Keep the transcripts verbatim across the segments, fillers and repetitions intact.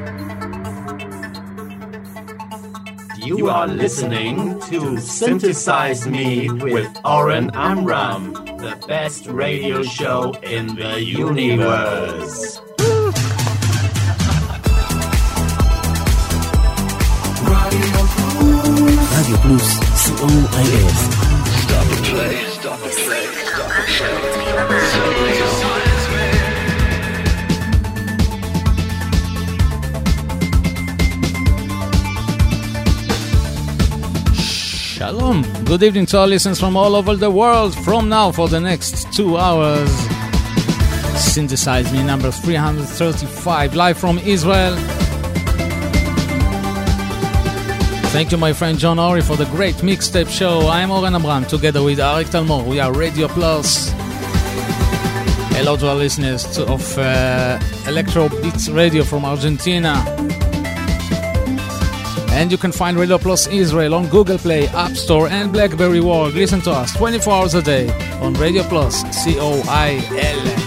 You are listening to Synthesize Me with Oren Amram, the best radio show in the universe. Radio Plus, C O I S. Stop the play, stop the play, stop the play. Shalom. Good evening to our listeners from all over the world. From now for the next two hours, Synthesize Me number three thirty-five, live from Israel. Thank you, my friend John Ori, for the great mixtape show. I'm Oren Amram, together with Arik Talmor. We are Radio Plus. Hello to our listeners to, of uh, Electro Beats Radio from Argentina. And you can find Radio Plus Israel on Google Play, App Store, and BlackBerry World. Listen to us twenty-four hours a day on Radio Plus, C O I L.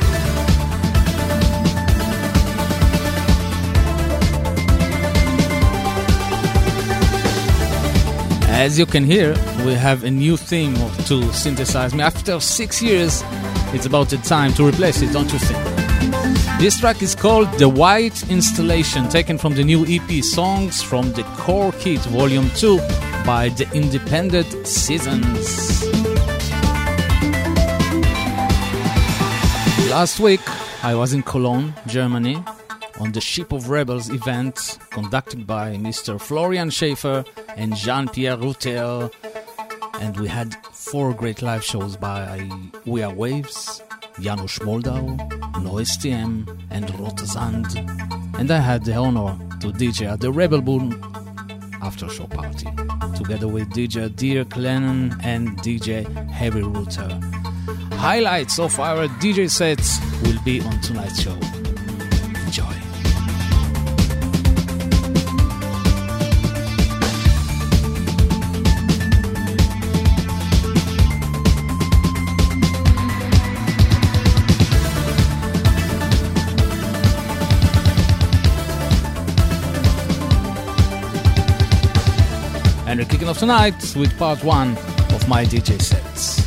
As you can hear, we have a new theme to Synthesize Me. After six years, it's about the time to replace it, don't you think? This track is called The White Installation, taken from the new E P Songs from the Core Kit Volume two by the Independent Seasons. Last week, I was in Cologne, Germany, on the Ship of Rebels event conducted by Mister Florian Schaefer and Jean-Pierre Routel, and we had four great live shows by We Are Waves, Janusz Moldau, Noise T M, and Rotazand, and I had the honor to D J at the Rebel Boom after show party, together with D J Dirk Lennon and D J Heavy Router. Highlights of our D J sets will be on tonight's show. Enjoy. And we're kicking off tonight with part one of my D J sets.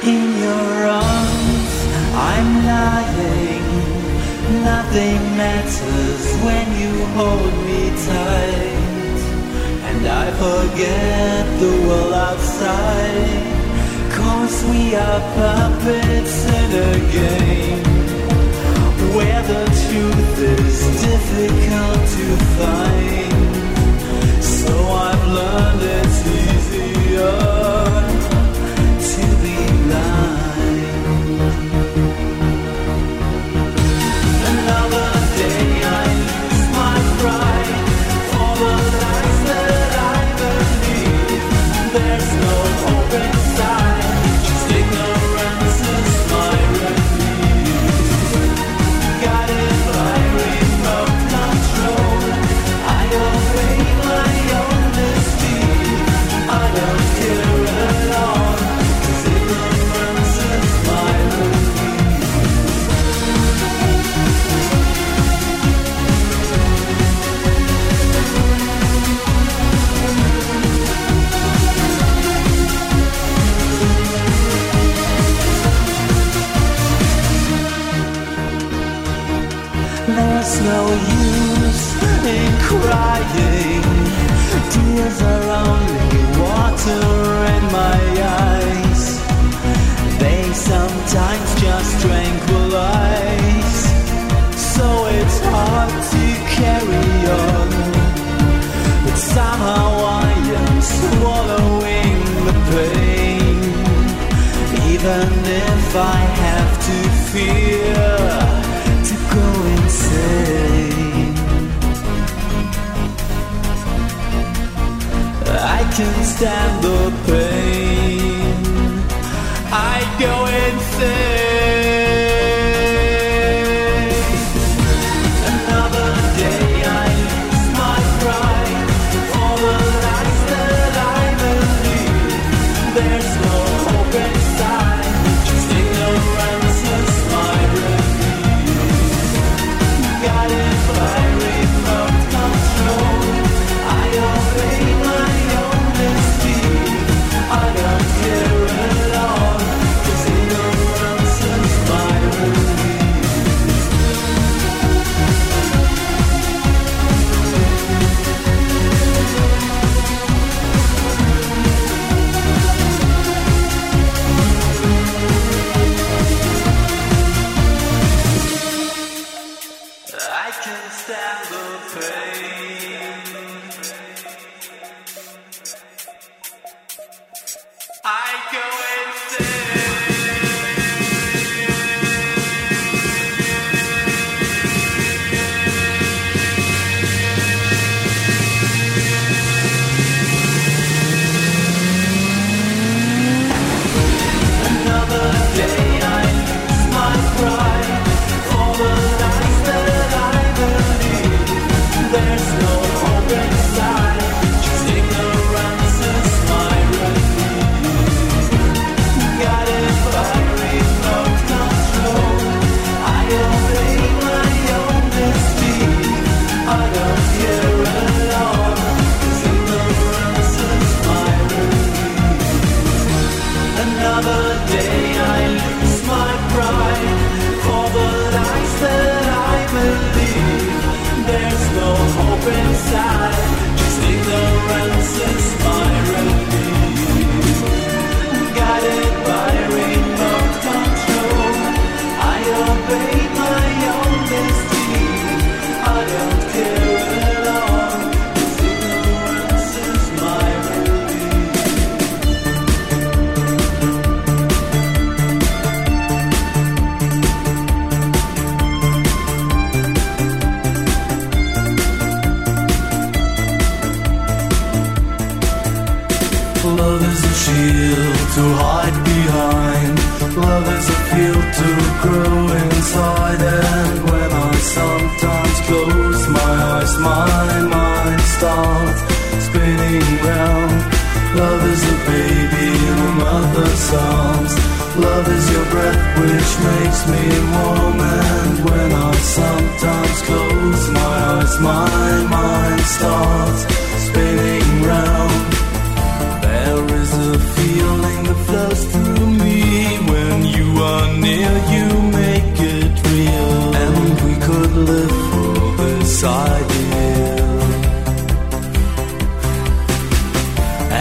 In your arms I'm lying. Nothing matters when you hold me tight, and I forget the world outside, 'cause we are puppets in a game where the truth is difficult to find. So I've learned it's easier to be blind. Another day I lose my pride for the lies that I believe. There's no hope inside, just ignorance is my relief. Guided by remote control, I obey my own misdeed. I don't care at all, 'cause ignorance is my relief. There's no use in crying. Tears are only water in my eyes. They sometimes just tranquilize. So it's hard to carry on, but somehow I am swallowing the pain, even if I have to fear to go insane. I can stand the pain, I go insane. Another day I lose my pride for the lies that I believe. There's no hope inside, just ignorance is my relief. Guided by remote control, I obey my own misdeed. I don't care at all, 'cause ignorance is my relief. I can stand the pain, I go insane. Another day I lose my pride for the lies that I believe. There's no hope inside, just ignorance is my relief. Guided by remote control, I obey my own misdeed. I don't care at all, 'cause ignorance is my relief. Another day I lose my pride for the lies that I believe. There's no hope inside, just ignorance is my relief. Guided by remote control, I obey my own misdeed. I don't care at all, 'cause ignorance is my relief. Love is a shield to hide behind. Love is a field to grow inside. And when I sometimes close my eyes, my mind starts spinning round. Love is a baby in a mother's arms. Love is your breath which makes me warm. And when I sometimes close my eyes, my mind starts spinning round. There is a feeling that flows through me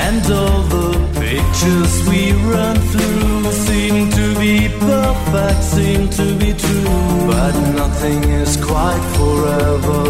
And all the pictures we run through seem to be perfect, seem to be true. But nothing is quite forever,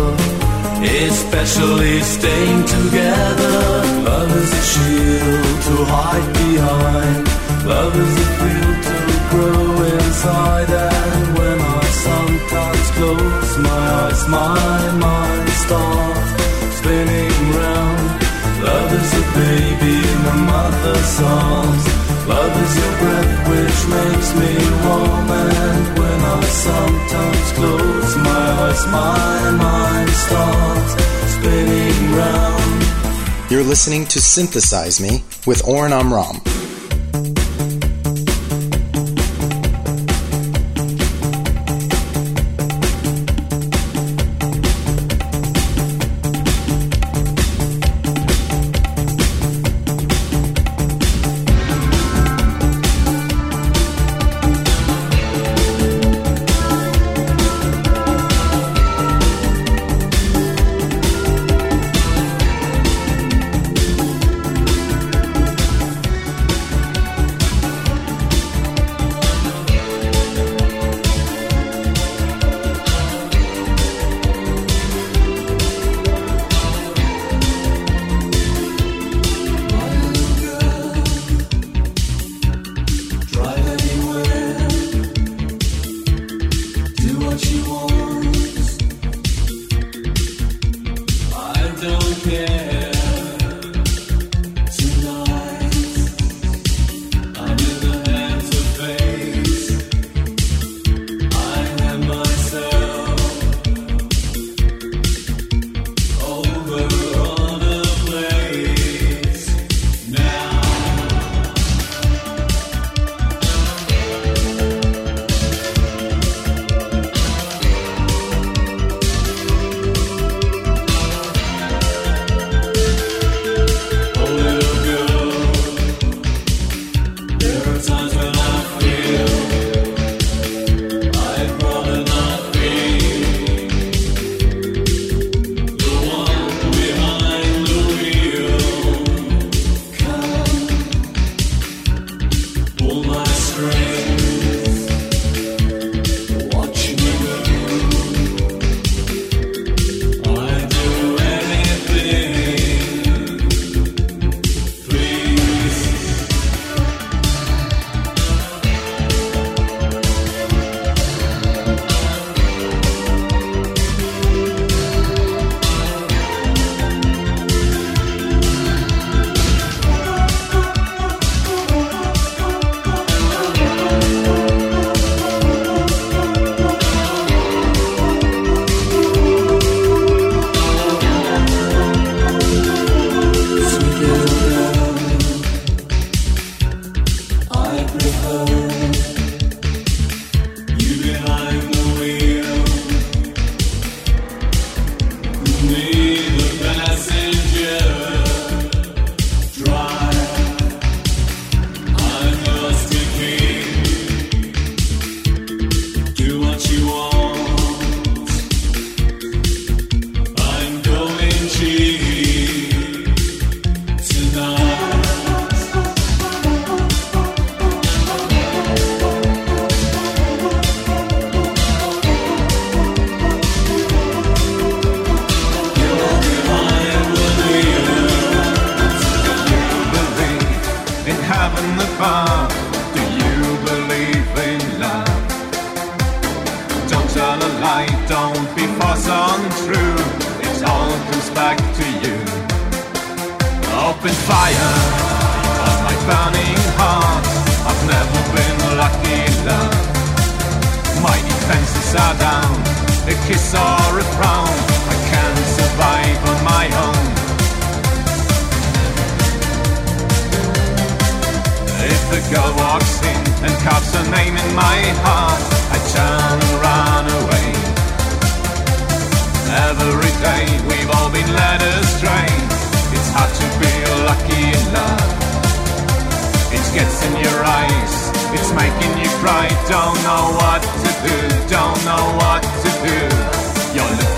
especially staying together. Love is a shield to hide behind. Love is a field to grow inside. And when I sometimes close my eyes, my mind starts spinning round. Love is a baby in the mother's arms. Love is your breath which makes me warm. And when I sometimes close my eyes, my mind starts spinning round. You're listening to Synthesize Me with Oren Amram.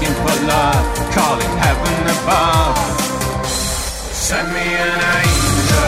Calling heaven above. Send me an angel.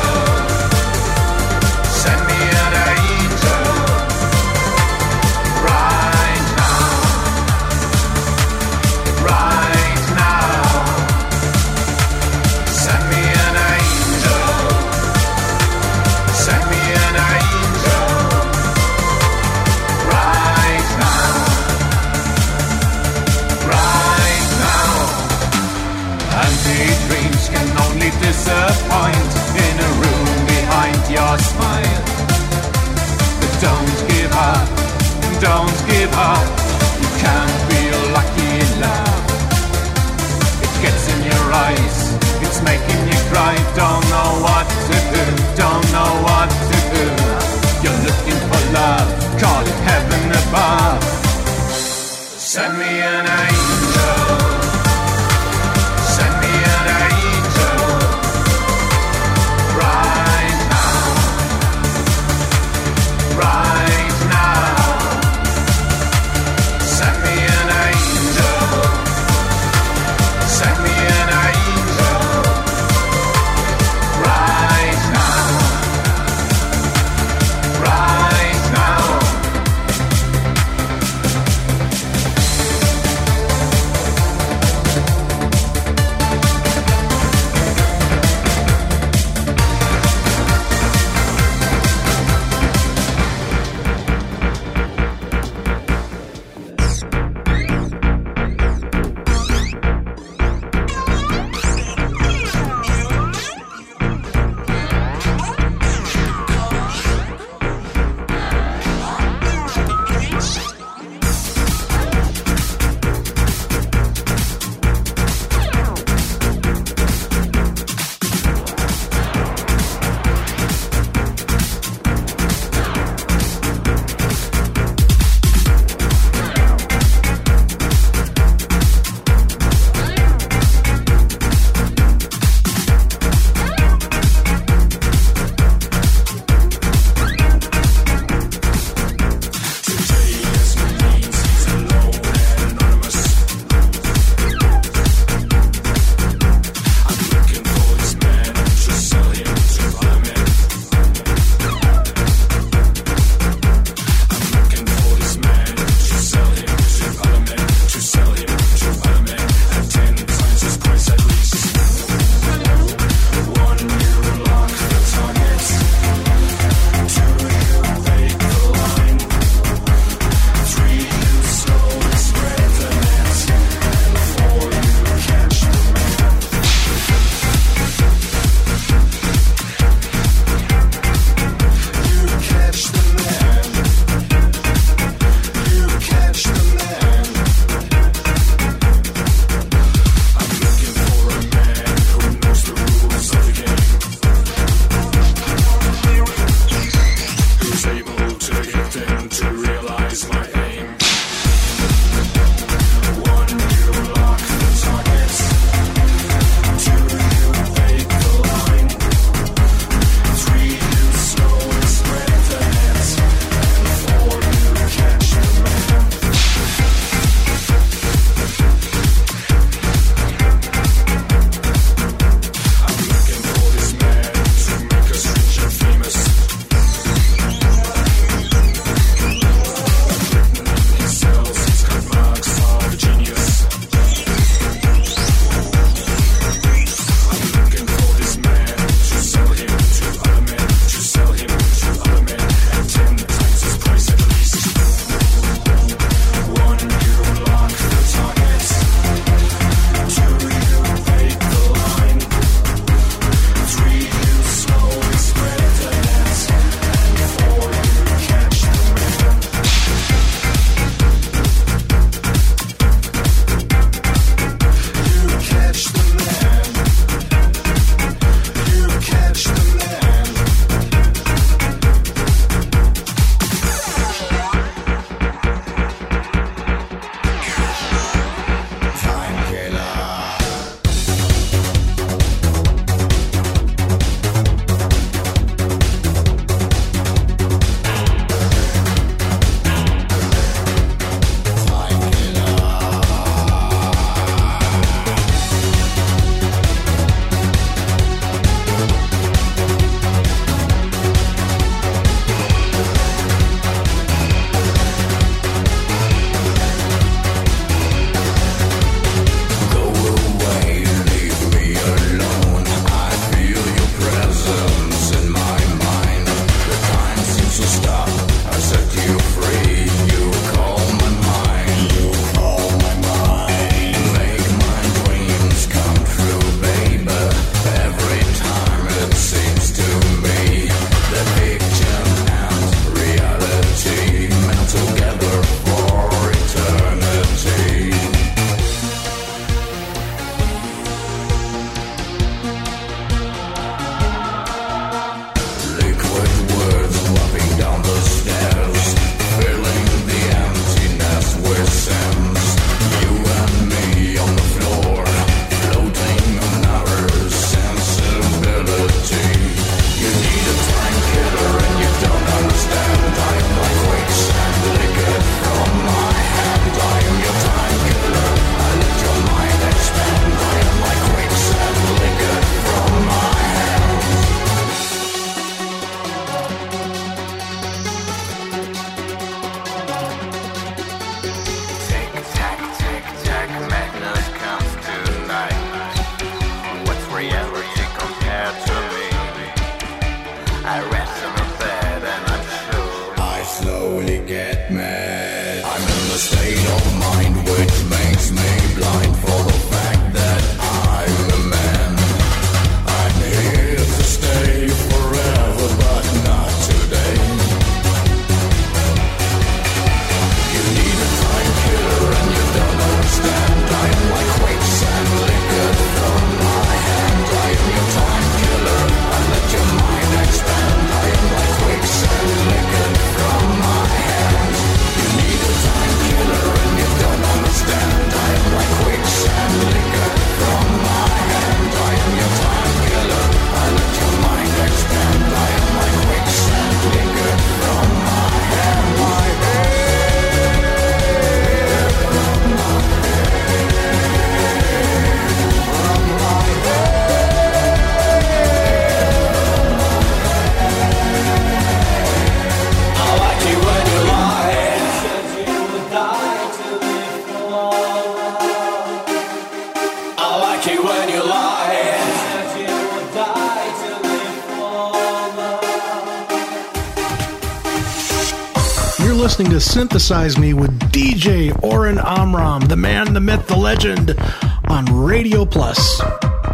Listening to Synthesize Me with D J Oren Amram, the man, the myth, the legend, on Radio Plus.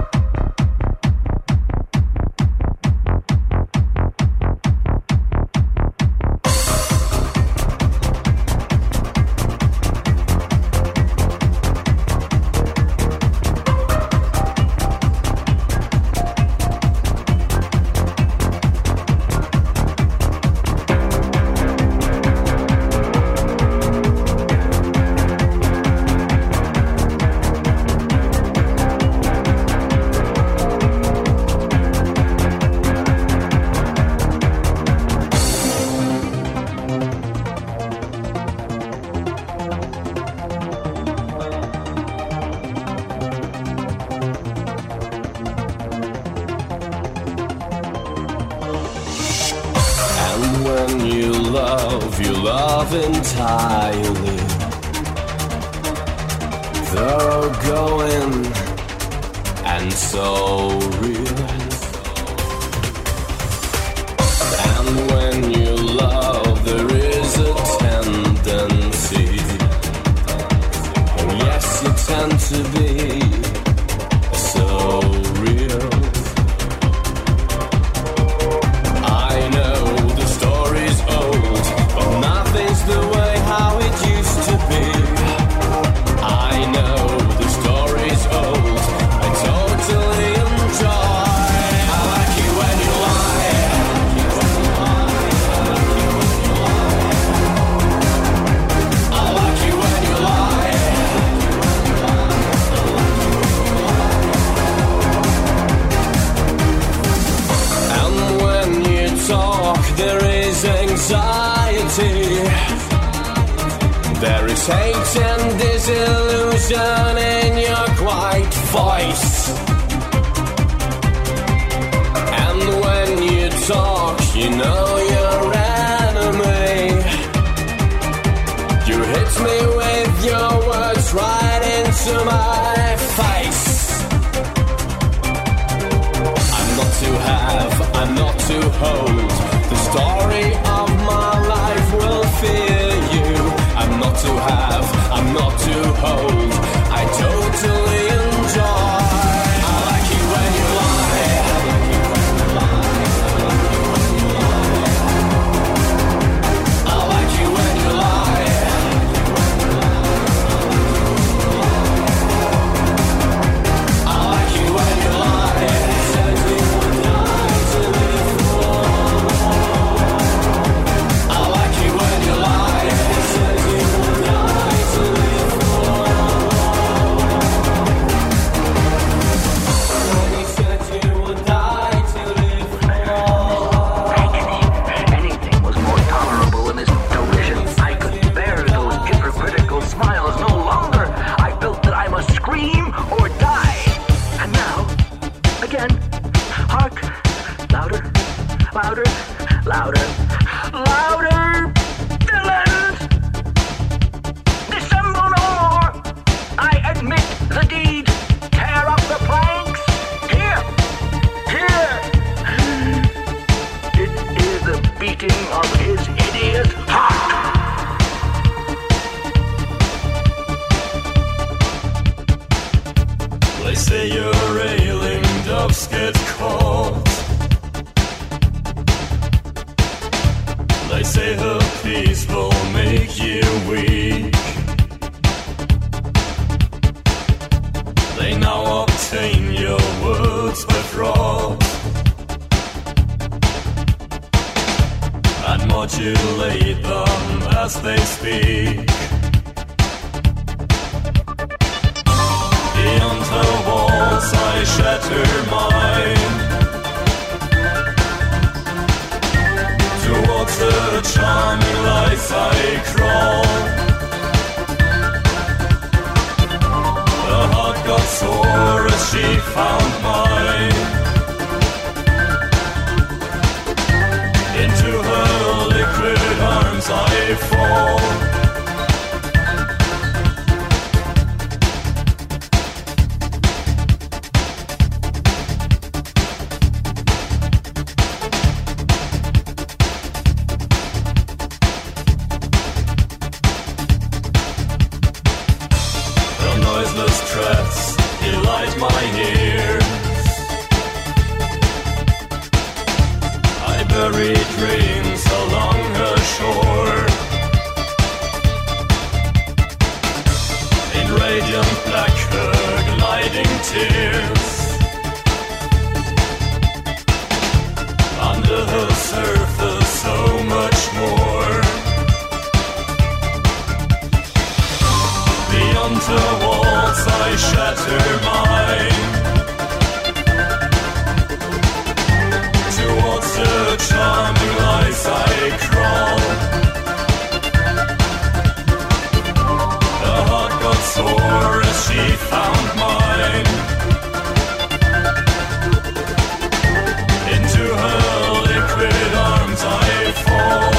Entirely thoroughgoing and so real. And when you love, there is a tendency, oh yes, you tend to be so real. I know the story's old, but nothing's the way how it used to be. I know the story's old, I totally enjoy. I like you when you lie. I like you when you lie. And when you talk, there is anxiety. There is hate and disillusion in your quiet voice. And when you talk, you know your enemy. You hit me with your words right into my face. I'm not to have, I'm not to hold. The story of my life will fear you. I'm not to have, I'm not to hold. I totally enjoy. I like you when you lie. I like you when you lie. I like you when you lie. Said you would die to live for. I like you when you lie. Said you would die to live for. When you said you would die to live for. Anything was more tolerable in this derision. I could bear those hypocritical smiles no longer. I felt that I must scream or die. And now, again, hark, louder, louder, louder, louder, villains! Dissemble no more. I admit the deed. Tear up the planks. Here, here. It is the beating of his idiot heart. get caught. They say her peace will make you weak. They now obtain your words by fraud and modulate them as they speak. Beyond her walls I shatter mine. Towards the charming lights I crawl. The heart got sore as she found mine. Into her liquid arms I fall. My ears, I bury dreams along her shore. In radiant black her gliding tears. Under her surface so much more. Beyond her walls I shatter mine. Towards the charming lights I crawl. Her heart got sore as she found mine. Into her liquid arms I fall.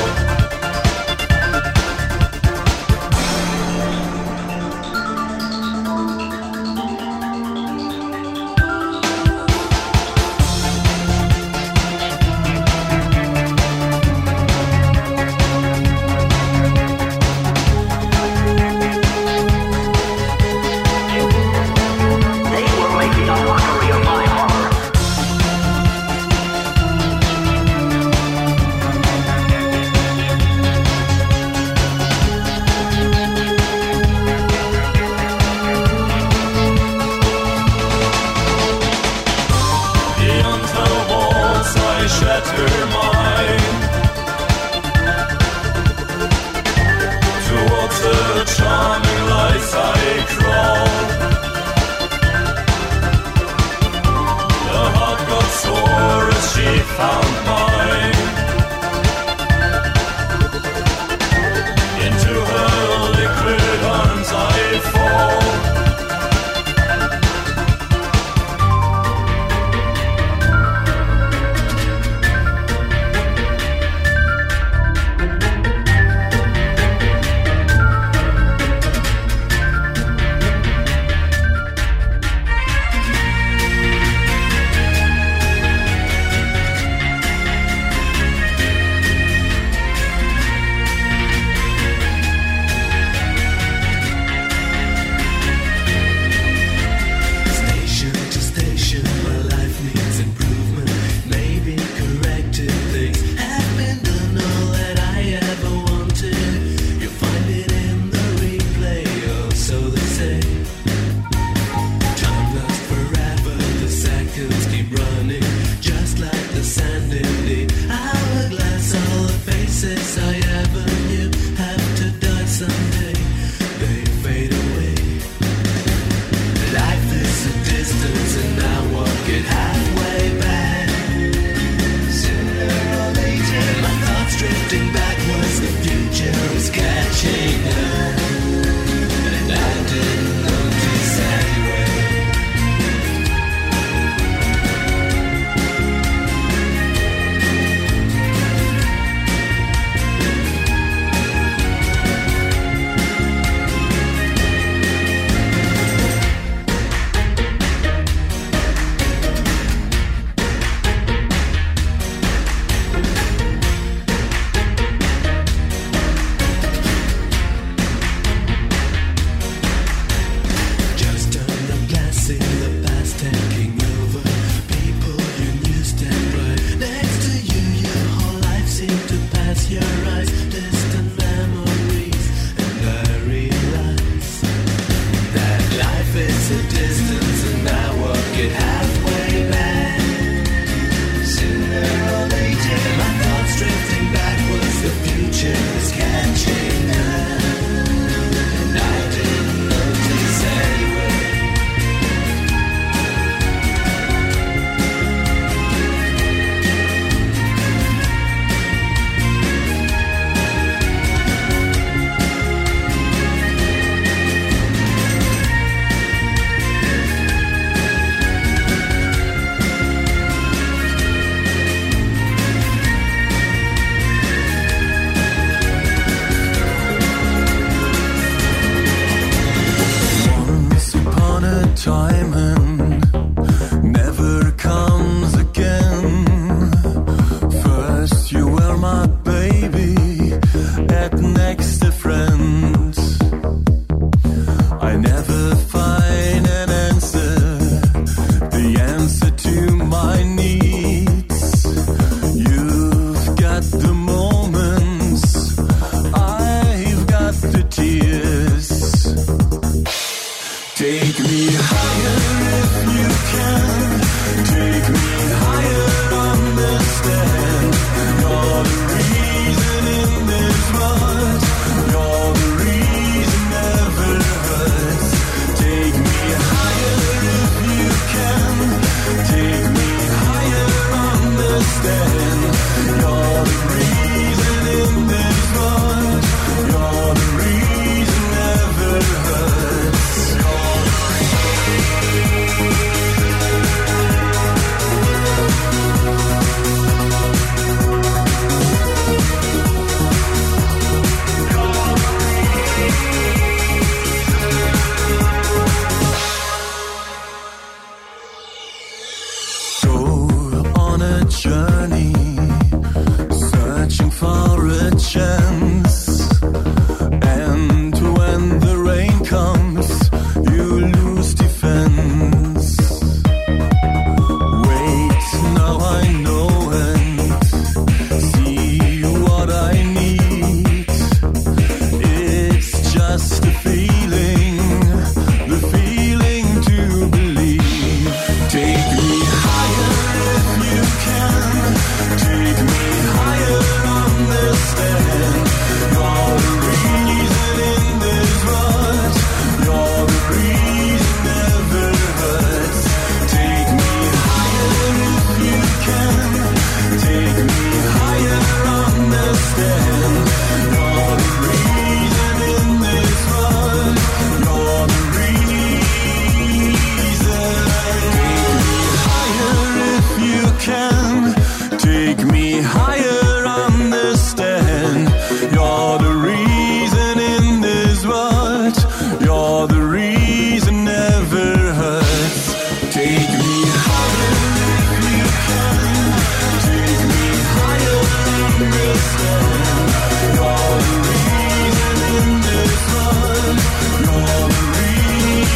Take me higher, understand. You're the reason in this world. You're the reason never hurts. Take me higher if you can. Take me higher, understand. You're the reason in this world. You're the reason.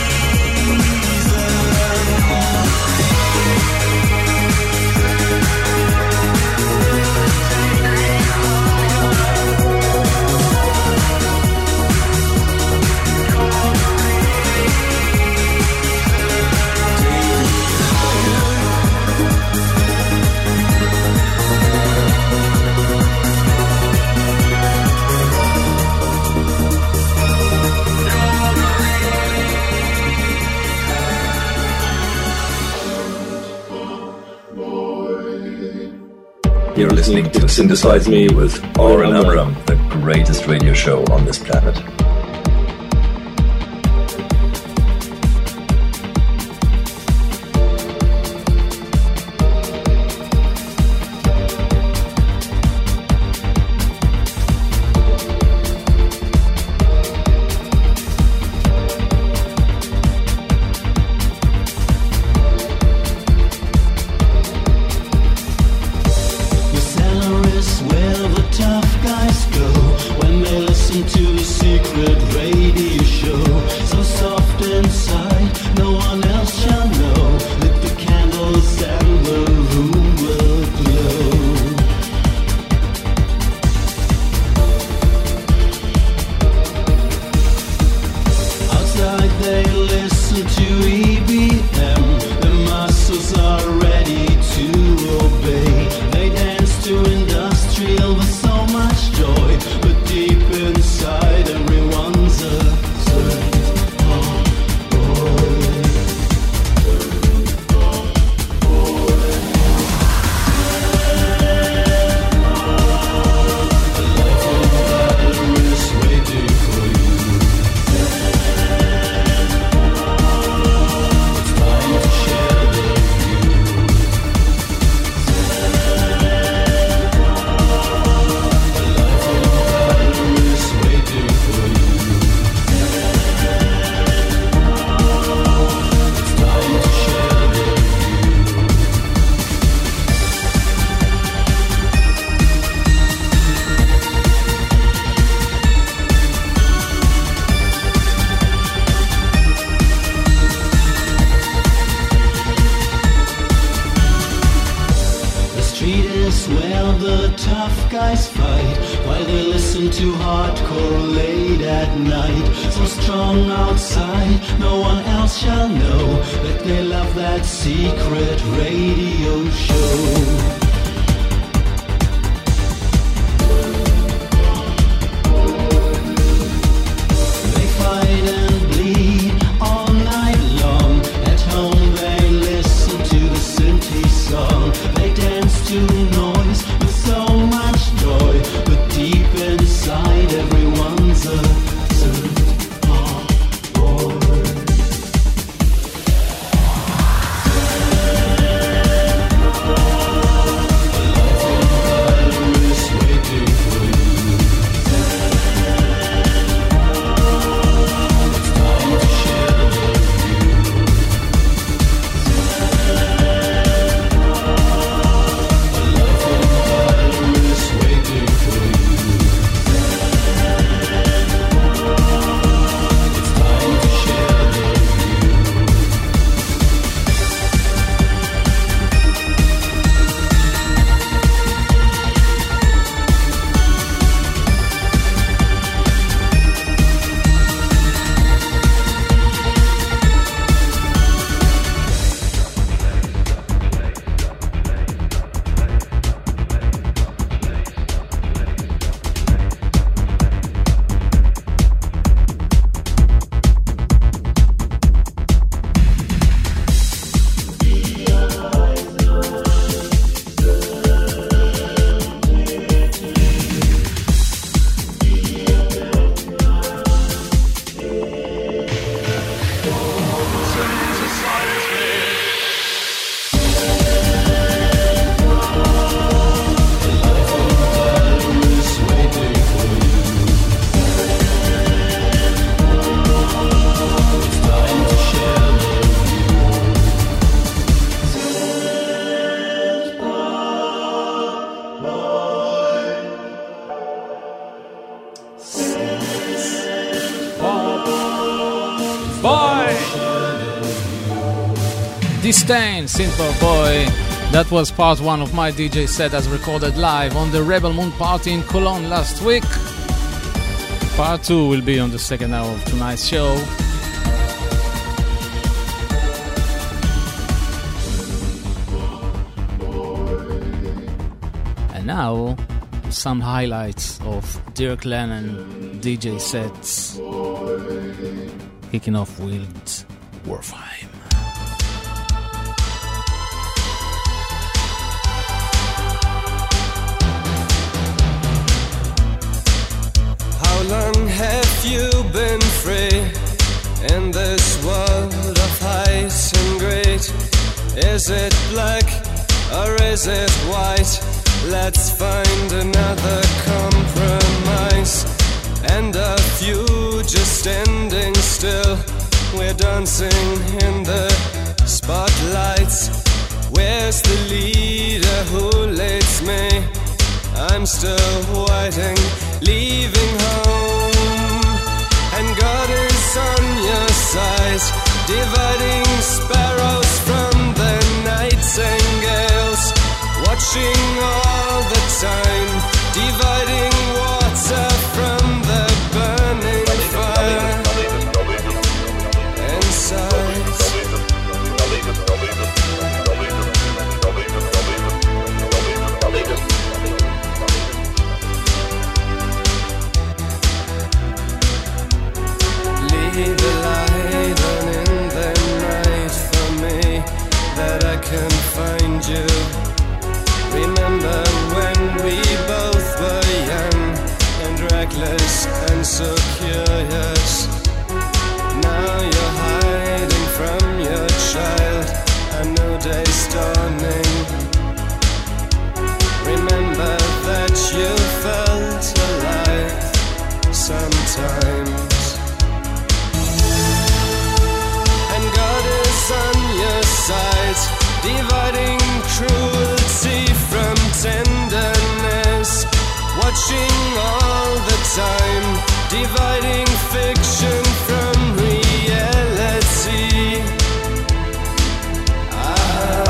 You're listening to Synthesize Me with Oren Amram, the greatest radio show on this planet. Disdain, Simple Boy. That was part one of my D J set as recorded live on the Rebel Moon party in Cologne last week. Part two will be on the second hour of tonight's show. And now, some highlights of Dirk Lennon D J sets. Kicking off with Warfheim. How long have you been free in this world of height and great? Is it black or is it white? Let's find another compromise. And a few just standing still. We're dancing in the spotlights. Where's the leader who leads me? I'm still waiting, leaving home. And God is on your side, dividing sparrows from the nightingales. Watching all the time, dividing water from the burning fire inside. Leave a light on in the night for me, that I can find you. Remember when we both were young and reckless and so curious. Now you're hiding from your child, a new day's dawning. Remember that you felt alive sometimes. And God is on your side, dividing cruelty from tenderness, watching all the time, dividing fiction from reality. Ah.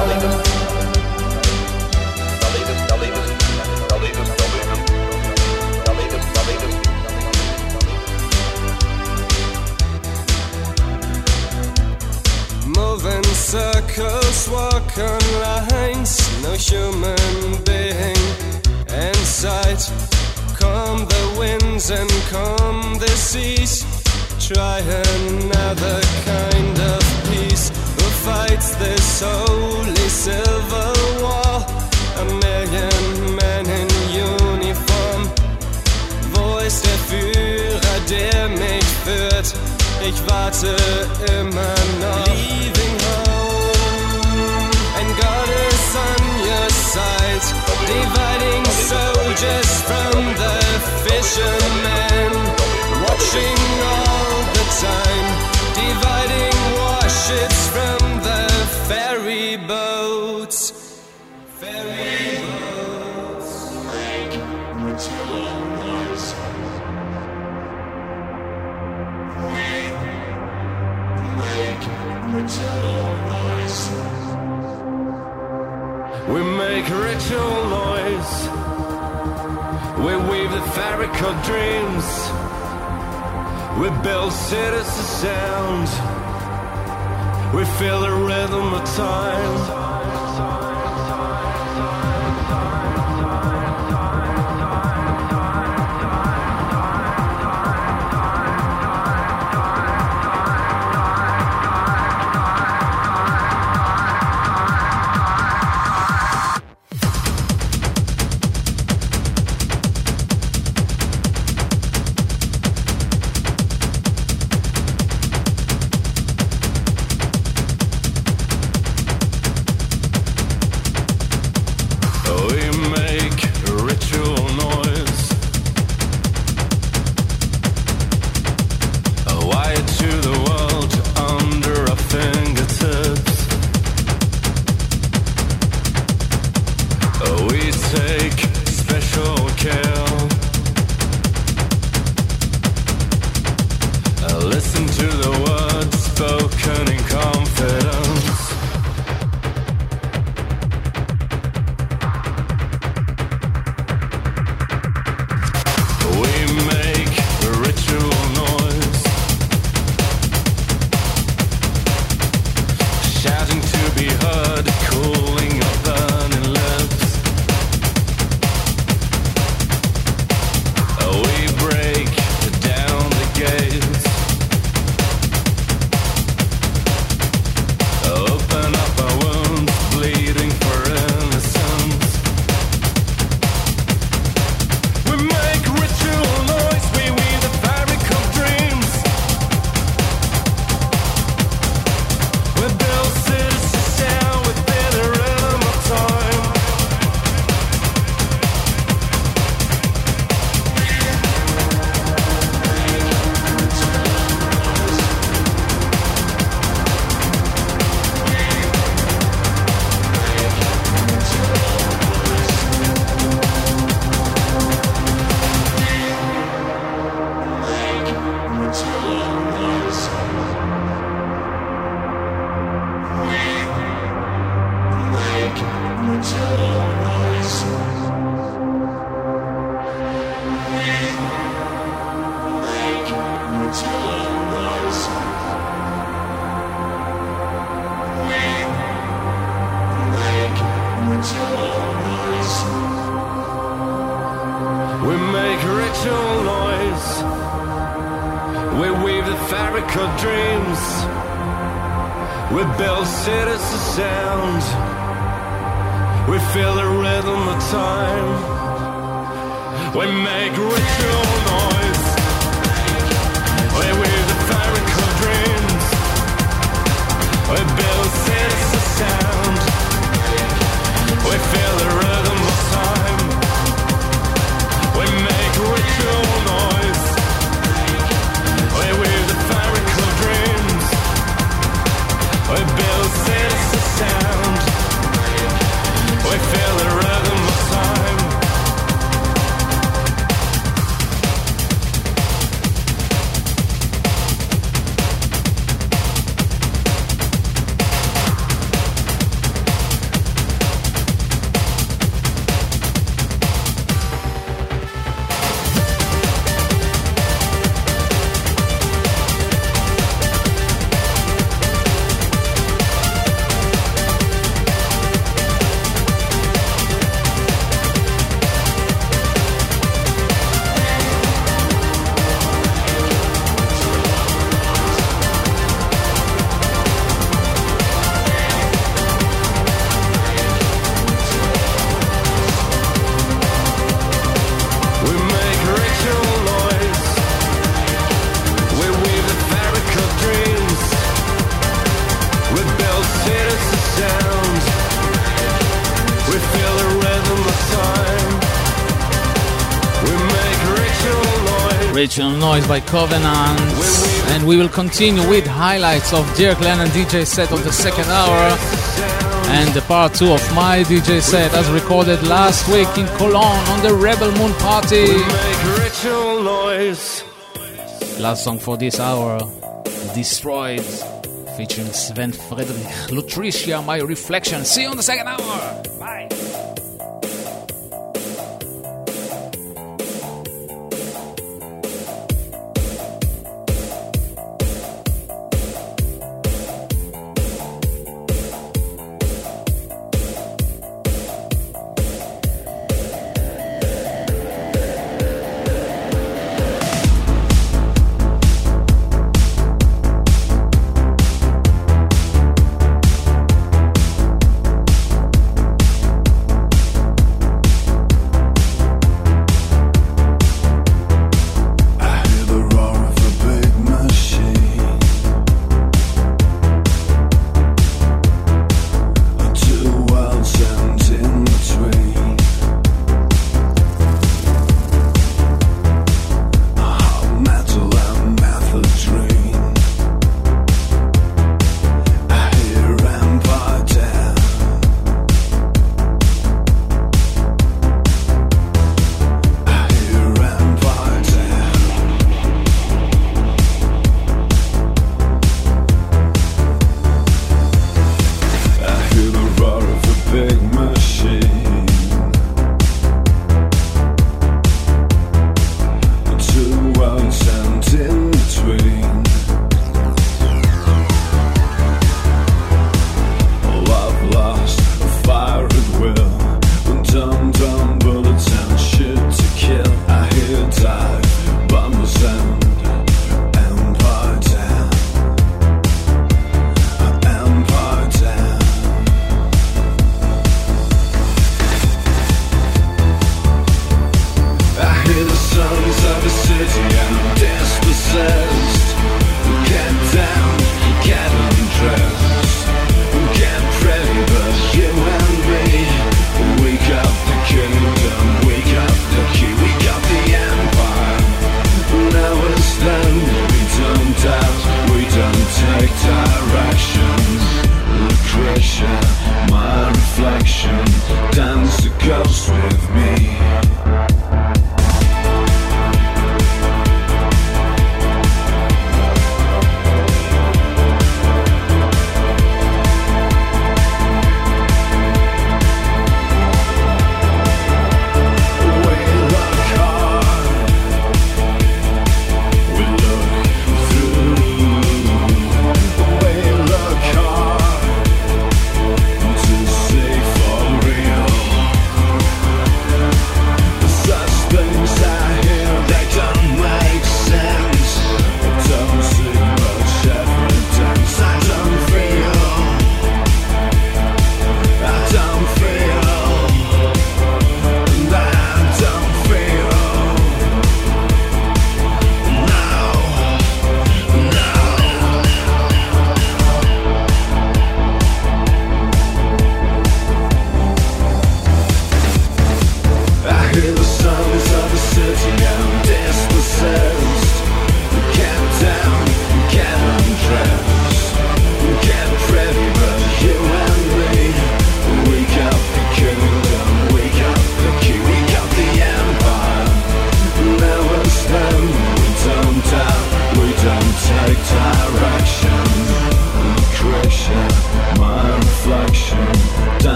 Move in circles, walk on lines, no human being in sight. Calm the winds and calm the seas. Try another kind of peace. Who fights this holy civil war? A million men in uniform. Wo ist der Führer, der mich führt? Ich warte immer noch. Leaving home, and God is on your side, dividing soldiers from the fishermen, watching all the time, dividing warships from the ferry boats. Ferry boats. Make material noise. Make ritual noise. We make ritual noise. We weave the fabric of dreams. We build cities of sound. We feel the rhythm of time. We make ritual noise. We weave the fabric of dreams. We build cities of sound. We feel the rhythm of time. We make ritual noise. We weave the fabric of dreams. We build cities of sound. We feel the rhythm of time. We make ritual noise. We weave the fabric of dreams. We build cities of sound. We feel the rhythm of time. Ritual Noise by Covenant, and we will continue with highlights of Dirk Lennon D J set of the second hour and the part two of my D J set as recorded last week in Cologne on the Rebel Moon Party. Ritual Noise. Last song for this hour, Destroyed, featuring Sven Friedrich, Lutricia, My Reflection. See you on the second hour. Bye.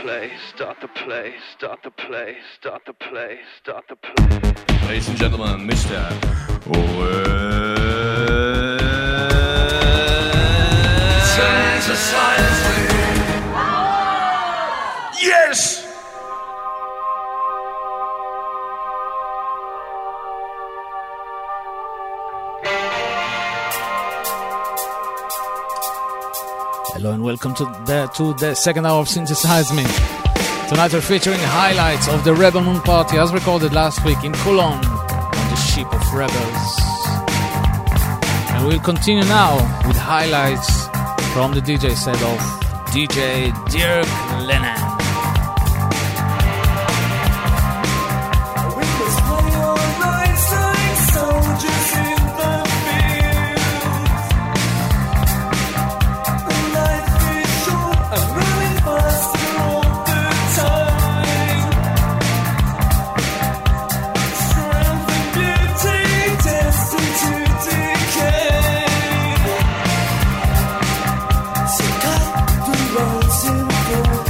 play, start the play, start the play, start the play, start the play. Ladies and gentlemen, Mister Synthesize me. Yes! Hello and welcome to the, to the second hour of Synthesize Me. Tonight we're featuring highlights of the Rebel Moon Party as recorded last week in Cologne on the Ship of Rebels. And we'll continue now with highlights from the D J set of D J Dirk Lennon. So cut the roads in gold.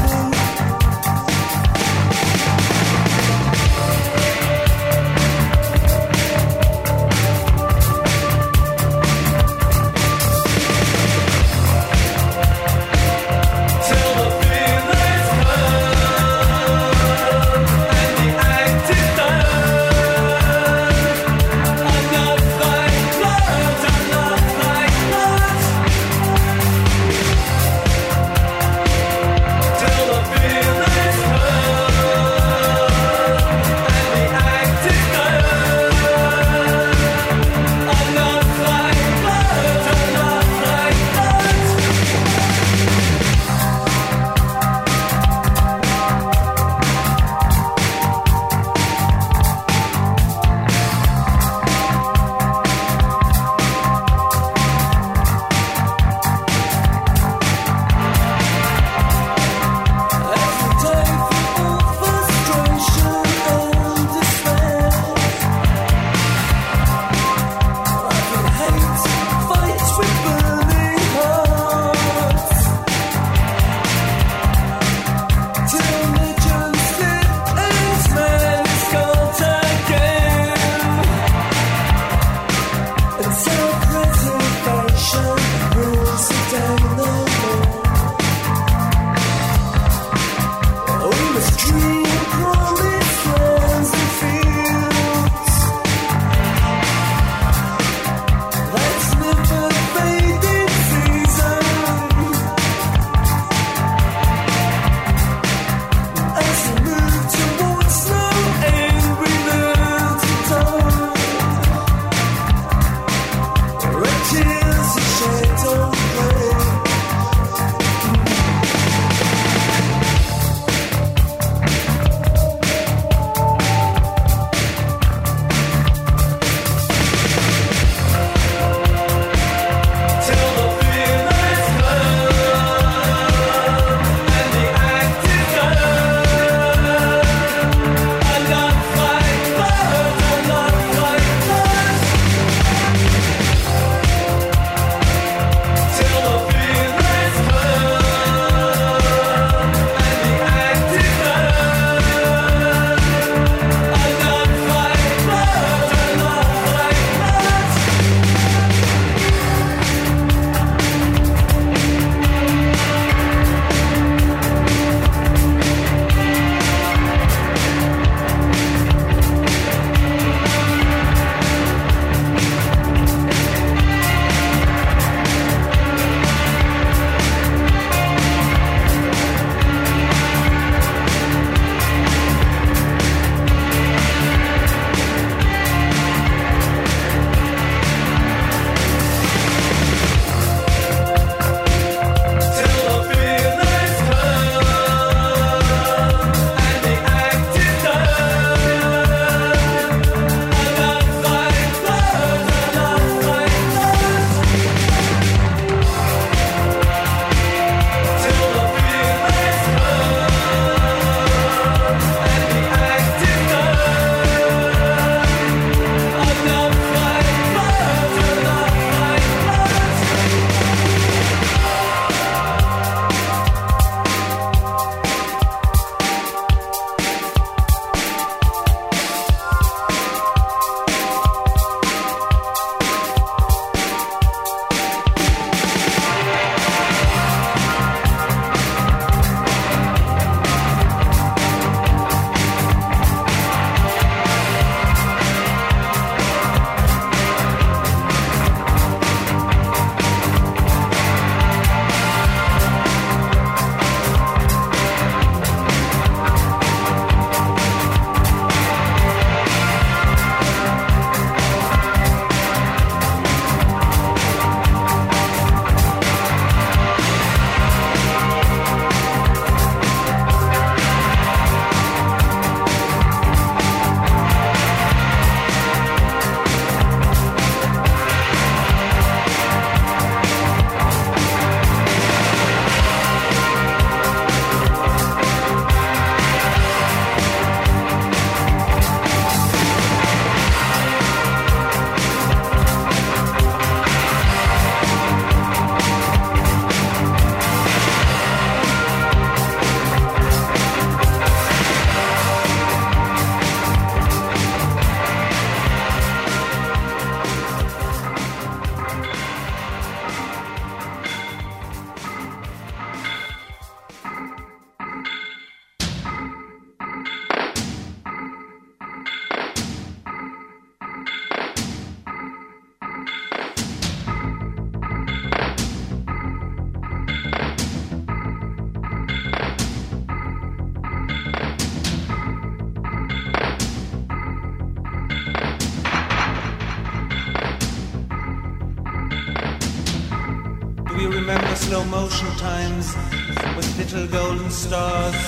slow motion times with little golden stars.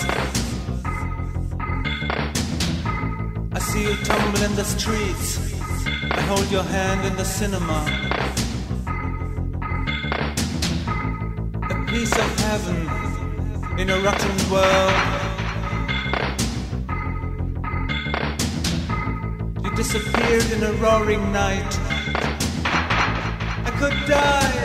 I see you tumble in the streets. I hold your hand in the cinema. A piece of heaven in a rotten world. You disappeared in a roaring night. I could die.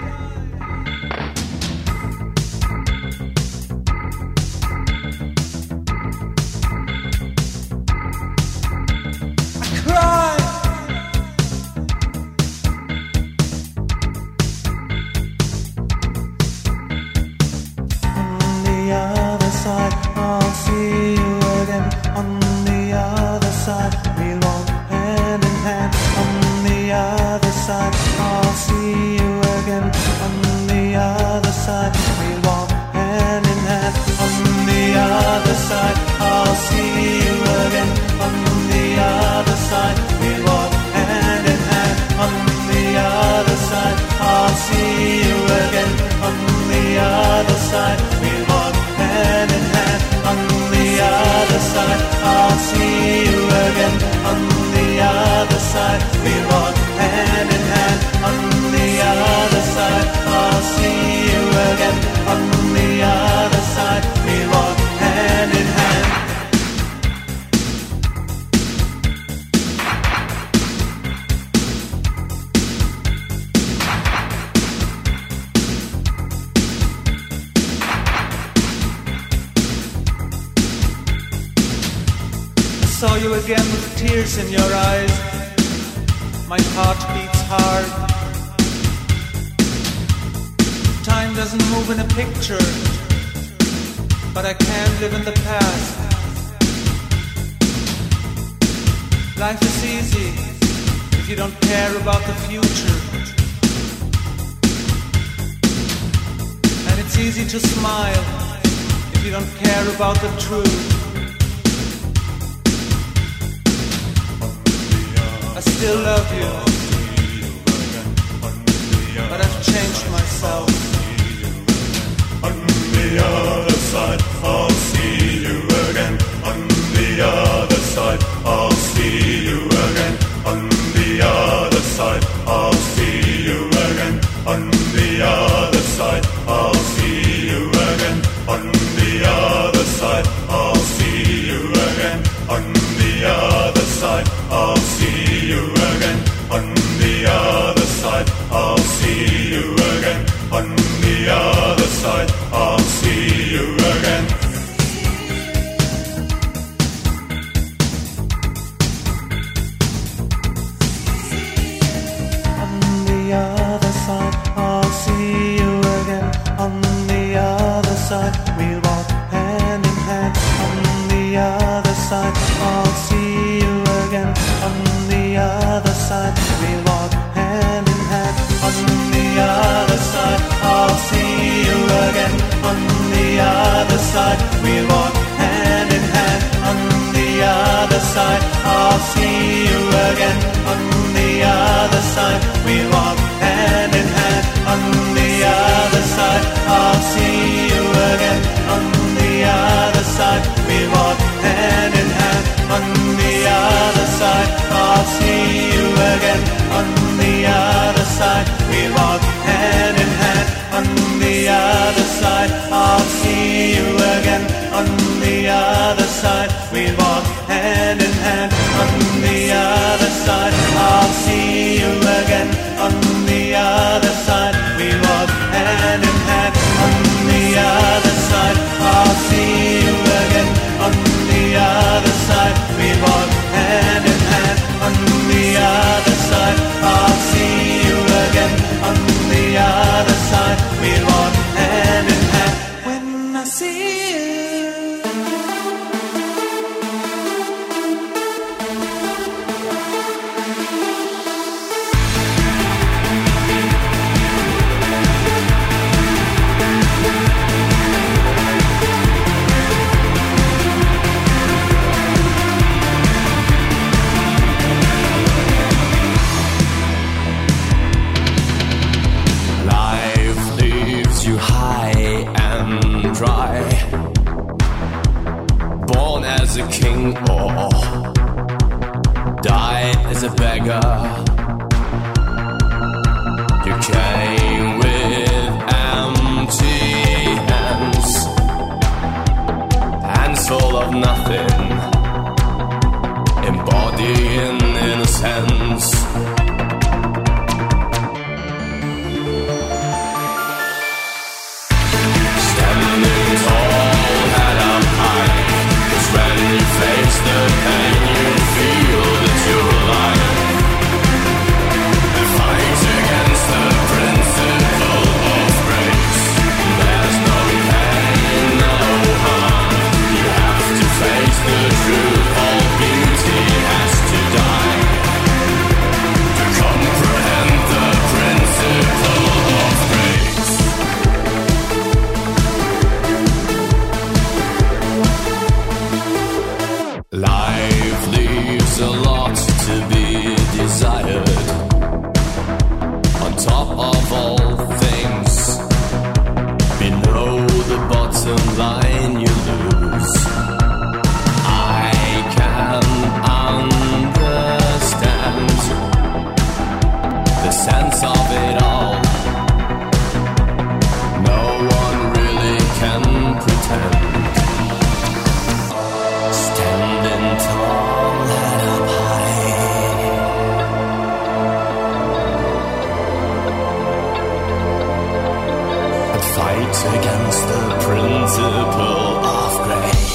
Saw you again with tears in your eyes. My heart beats hard. Time doesn't move in a picture, but I can't live in the past. Life is easy if you don't care about the future. And it's easy to smile if you don't care about the truth. I still love you, but I've changed myself. On the other side, I'll see you again. On the other side, I'll see you again. On the other side, I'll see you again. On the other side, I'll see you again. On the other side, I'll see you again. On the other side, I'll see you again. On the other side, I'll see you again. On the other side, I'll see you again. On the other side, I'll see you again. On the other side, we'll walk hand in hand. On the other side, I'll see you again. On the other side, we'll walk hand in hand. On the other side, I'll see you again. On the other side, we'll walk hand in hand. On the other side, I'll see you again. On the other side, we'll walk hand in hand. On the other side, I'll see you again. On the other side, we'll walk hand in hand. On the other side, I'll see you again. On the other side, we'll walk hand in hand. On the other side, I'll see you again. On the other side, we'll walk hand in hand. On the other side, I'll see you again. On the other side, we'll walk hand in hand. On the other side, I'll see you again. On the other side, we'll walk hand in hand. On the other side, I'll see you again. On the other side, we'll walk hand in hand. When I see you. born as a king or die as a beggar. You came with empty hands, hands full of nothing, embodying innocence. Standing tall, head up high, 'cause when you face the pain, you feel that you're alive. And fight against the principle of grace. There's no pain, no harm. You have to face the truth. All beauty has to die to comprehend the principle of grace. Life leaves a lot to be desired. On top of all things, below the bottom line you lose. I can understand the sense of it all. No one really can pretend. Standing tall, head up high, and fight against the principle of grace.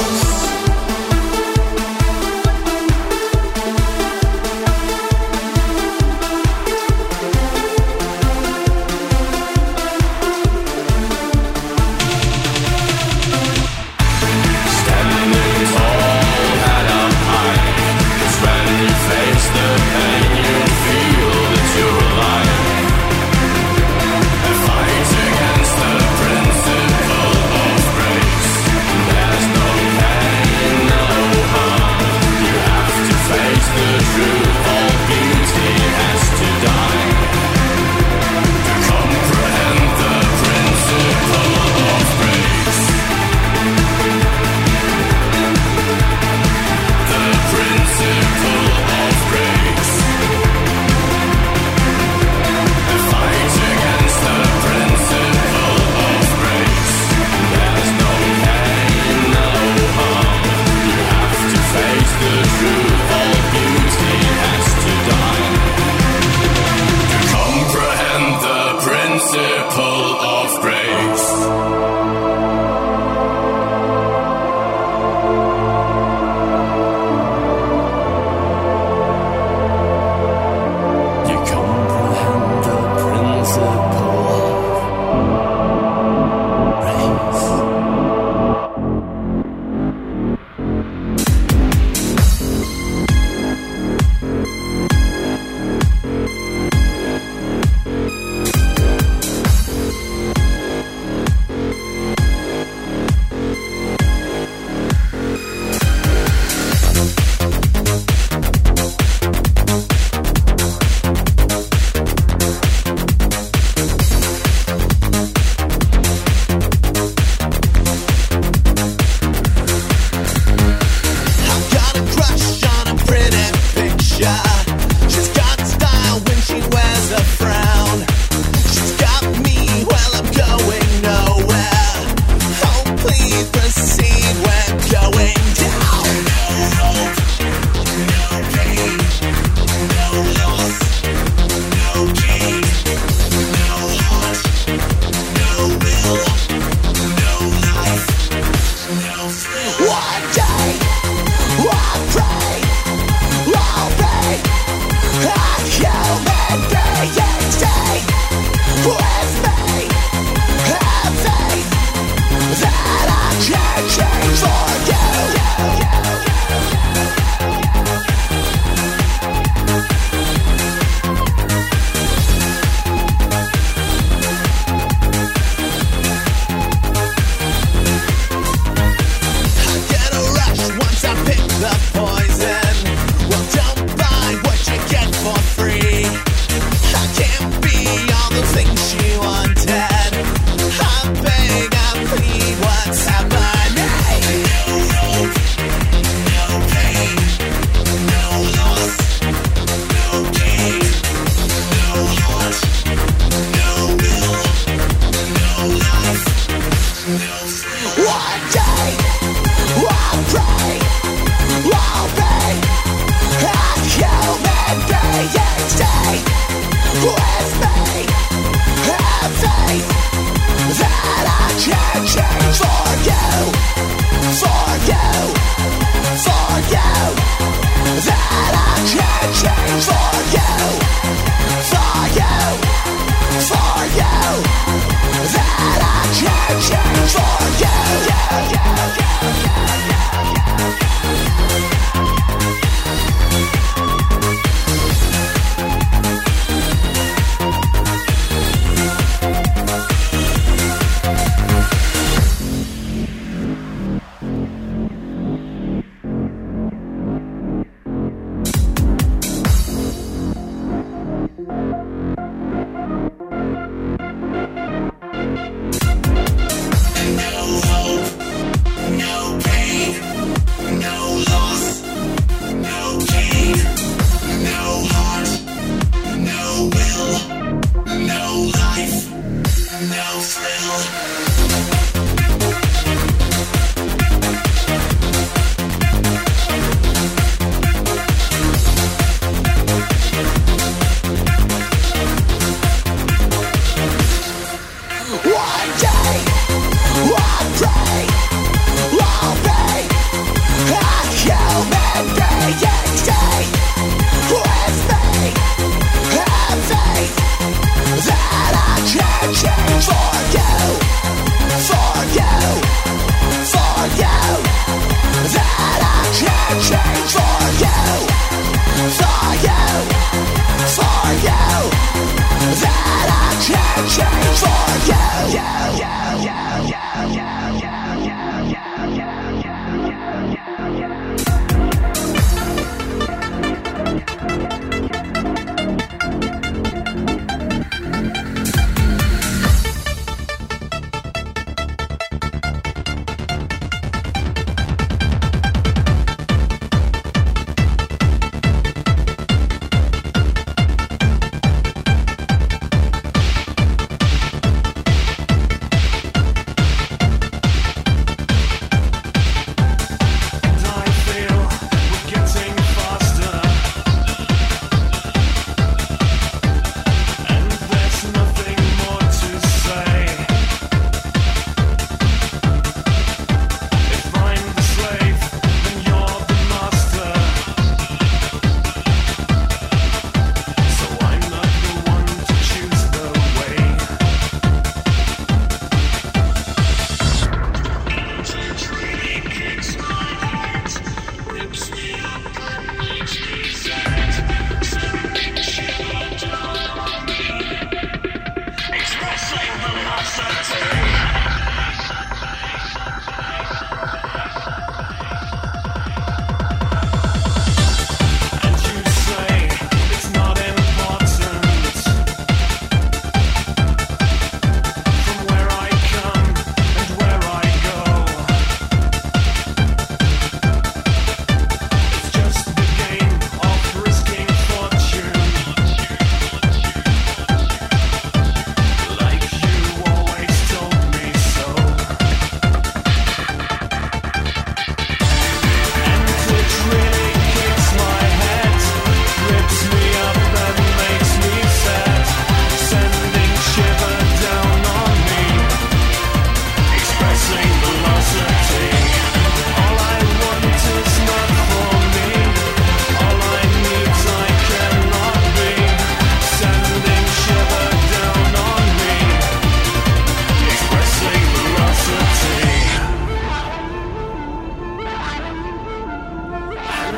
Standing tall, head up high, 'cause when you face the pain, you feel that you're alive. And fight against the principle of grace. There's no pain, no harm. You have to face the truth. All beauty has to die to comprehend the principle of grace. The principle of grace. And fight against the principle of grace. There's no pain, no harm. You have to face the truth. All beauty has to die to comprehend the principle of grace. You comprehend the principle of grace. Got a crush on a pretty picture. She's got style when she wears a frown. She's got me while I'm going nowhere. Oh, please proceed, we're going down. No hope, no pain, no loss, no gain, no heart, no will, no life, no thrill. One day, one pray, I'll be a human being. Stay with me, have faith that I can change for you. I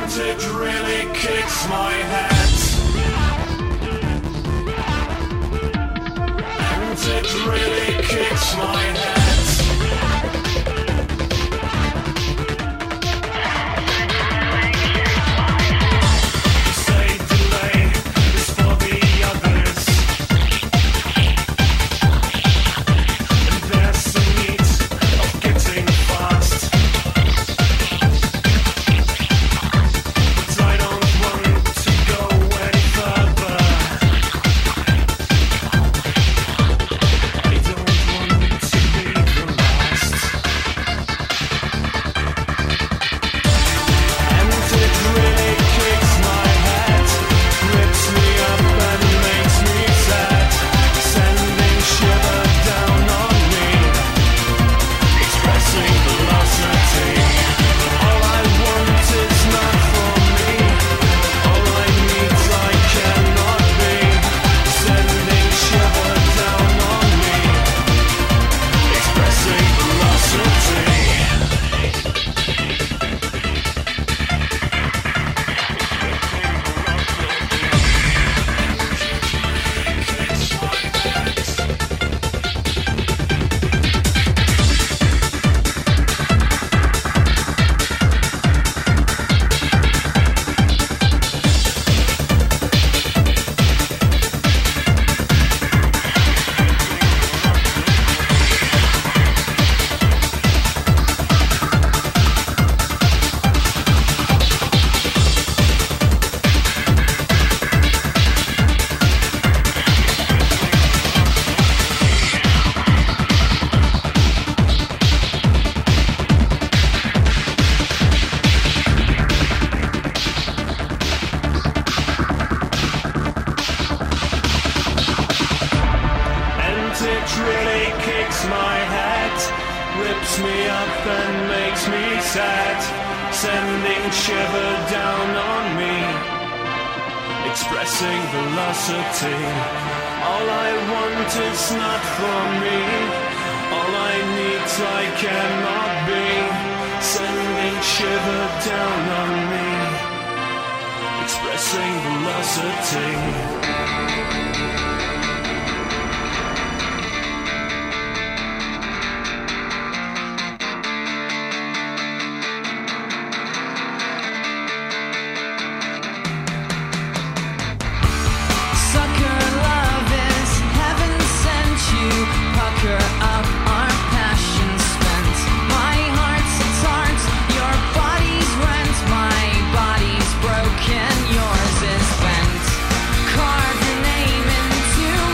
And it really kicks my head. And it really kicks my head. Yours is bent. Carve your name into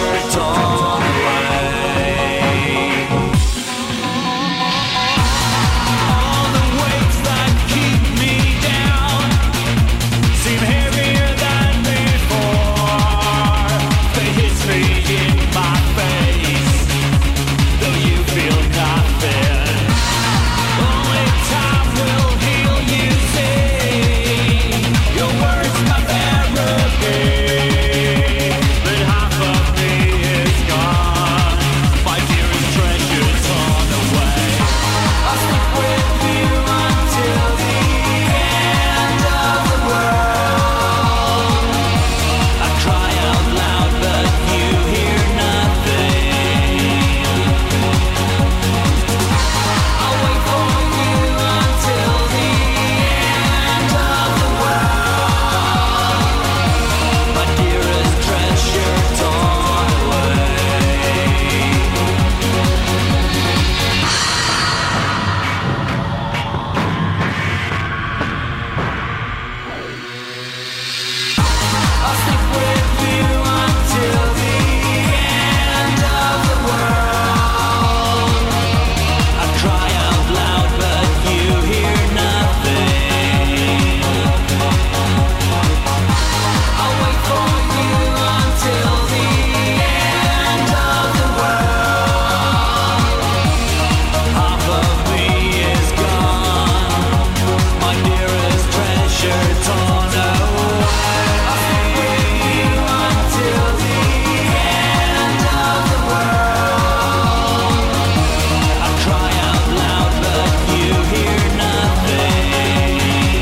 shirt torn away. All the weights that keep me down seem heavier than before. They hit me in my face, though you feel nothing. Only time will heal, you see. Your words my therapy, but half of me is gone. My dearest treasure torn away. I'll stick with you until the end of the world. I cry out loud, but you hear nothing. I'll wait for you until the end of the world. My dearest treasure torn away. I'll stick with you until the end of the world. I cry out loud, but you hear nothing. I'll wait for you until the end of the world. Half of me is gone, my dearest treasure torn away. I'll stick with you until the end of the world. I cry out loud, but you hear nothing.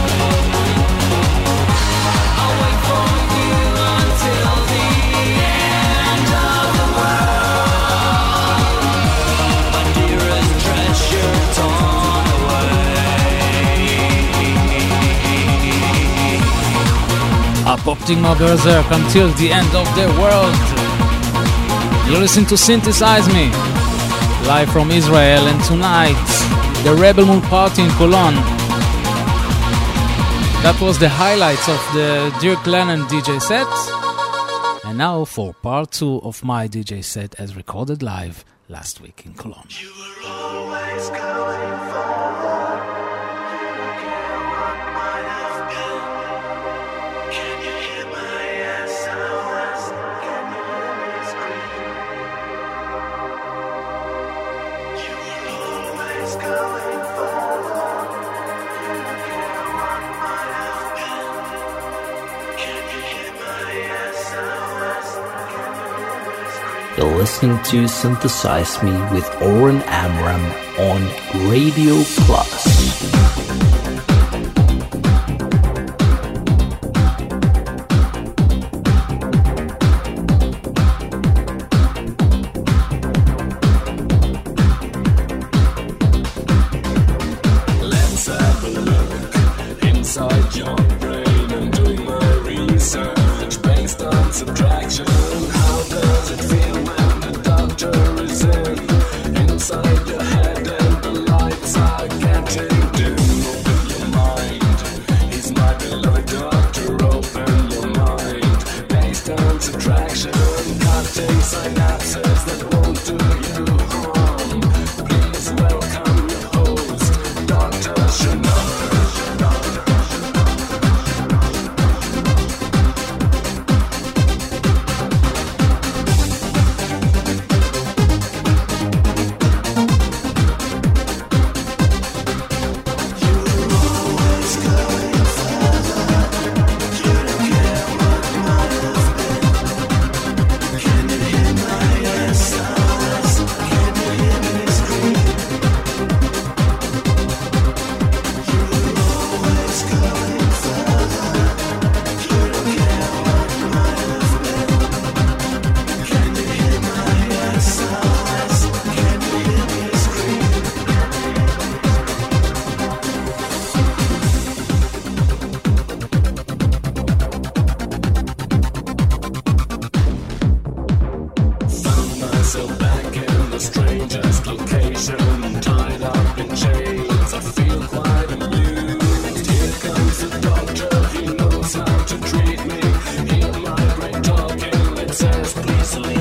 I'll wait for you until the end of the world. My dearest treasure torn away. Up Optima Berserk until the end of the world. You listen to Synthesize Me, live from Israel, and tonight, the Rebel Moon Party in Cologne. That was the highlights of the Dirk Lennon D J set. And now for part two of my D J set as recorded live last week in Cologne. Always going forward. You don't care what might have been. Can you hear my S O S? Can you hear me scream? You were always going forward. You don't care what might have been. Can you hear my S O S? Can you hear me scream? You're listening to Synthesize Me with Oren Amram on Radio Plus. Let's have a look inside your brain and doing my research based on subtraction. How does it feel when the doctor is in inside your head and the lights are getting dim? Open your mind. He's my beloved doctor. Open your mind. Based on subtraction, cutting synapses that won't do you harm. Please welcome your host, Doctor Chanel. Please leave.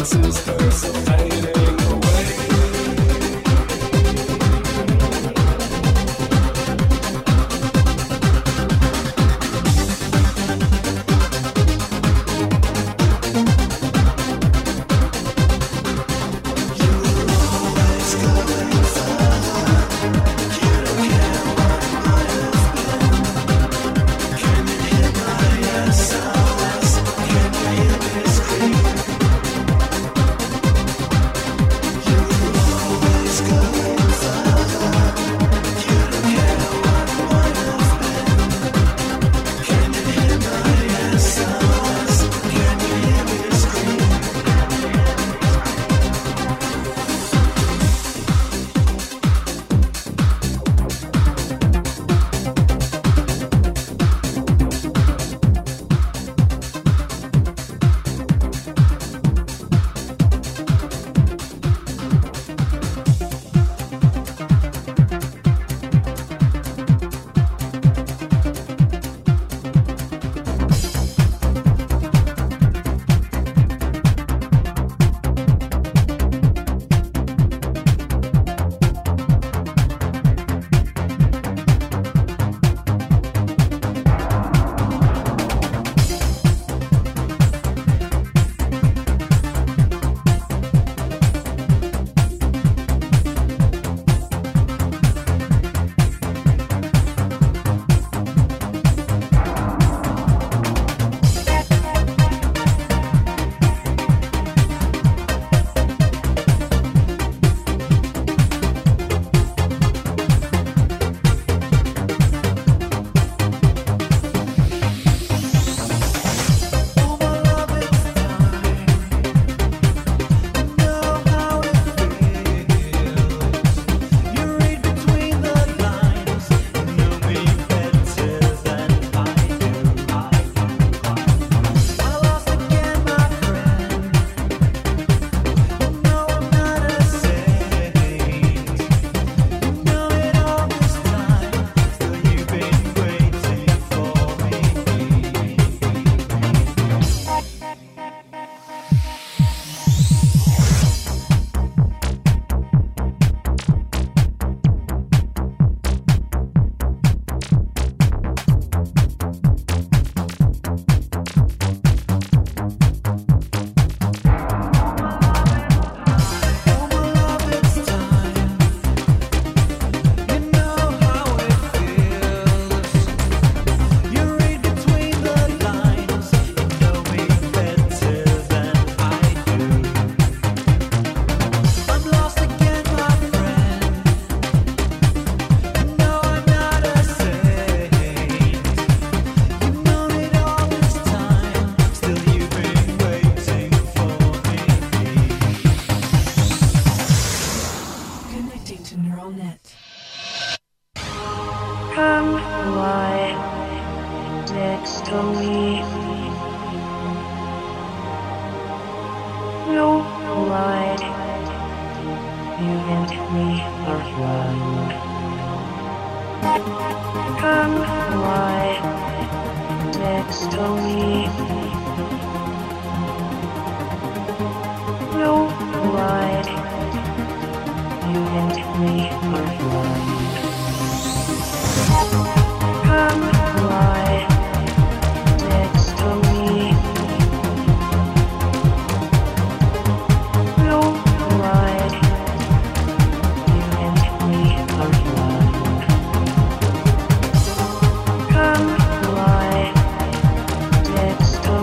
Come, fly next to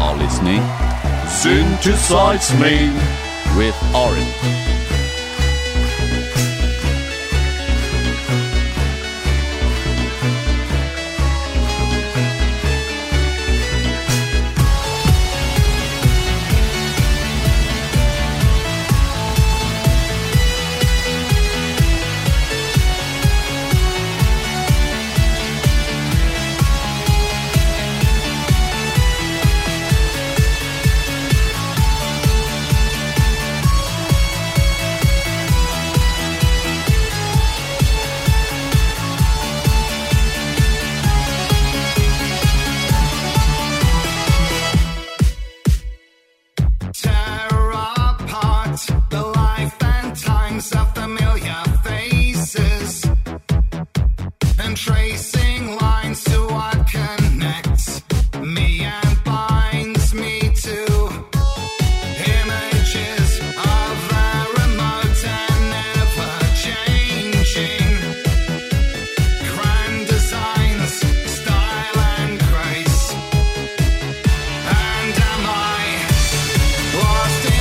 are listening Synthesize Me with Oren. Lost in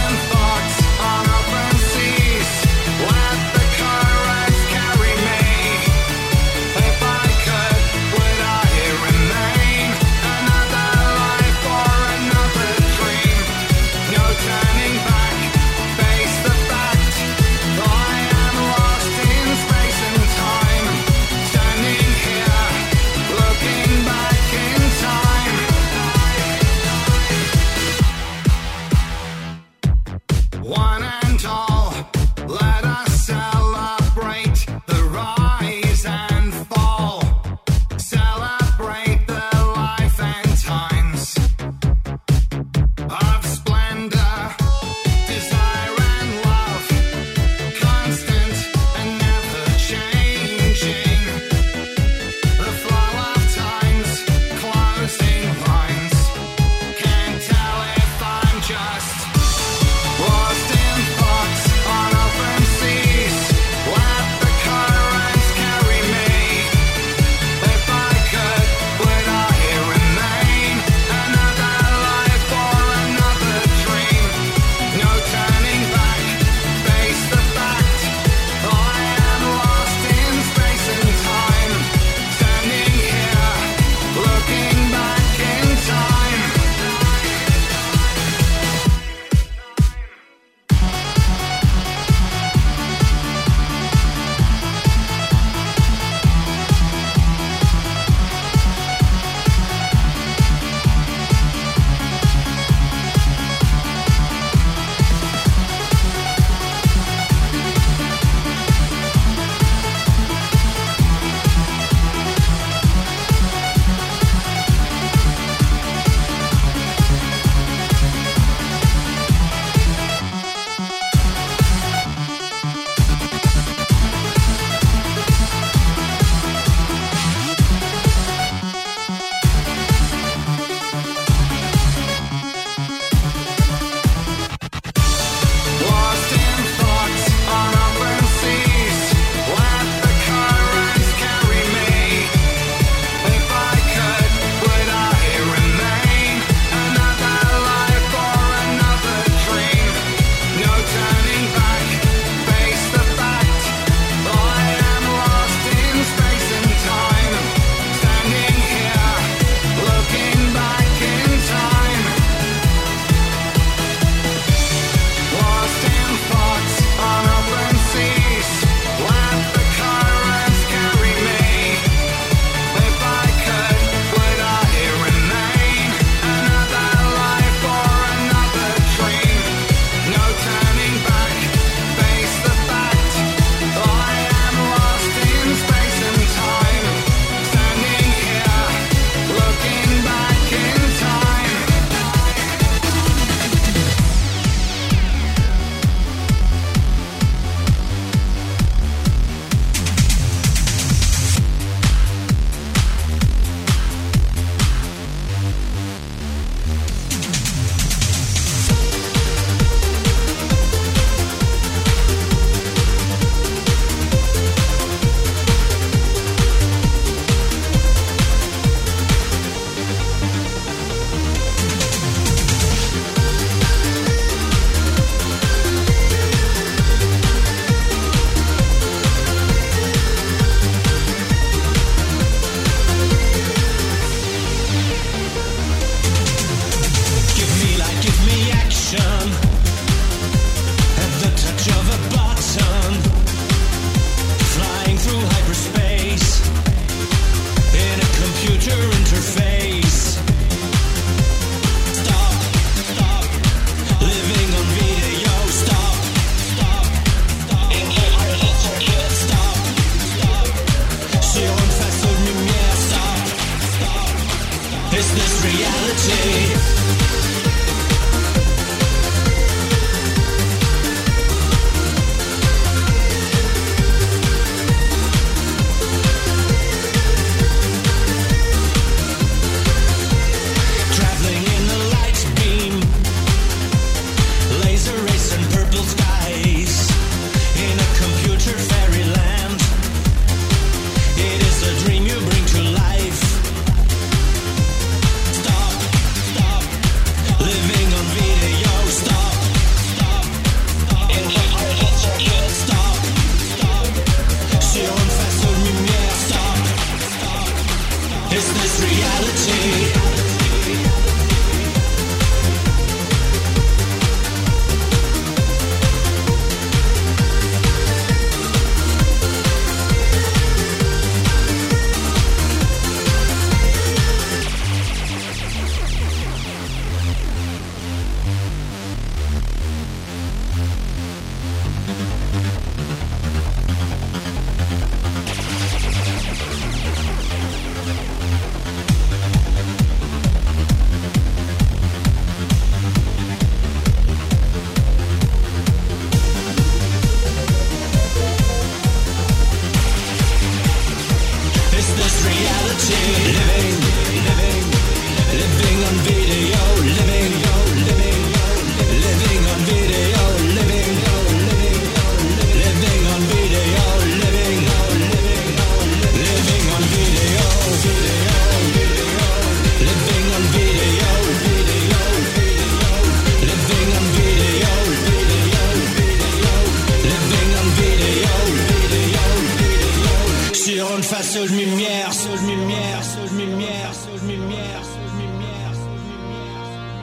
seule lumière, seule lumière, seule lumière, seule lumière, seule lumière, seule lumière.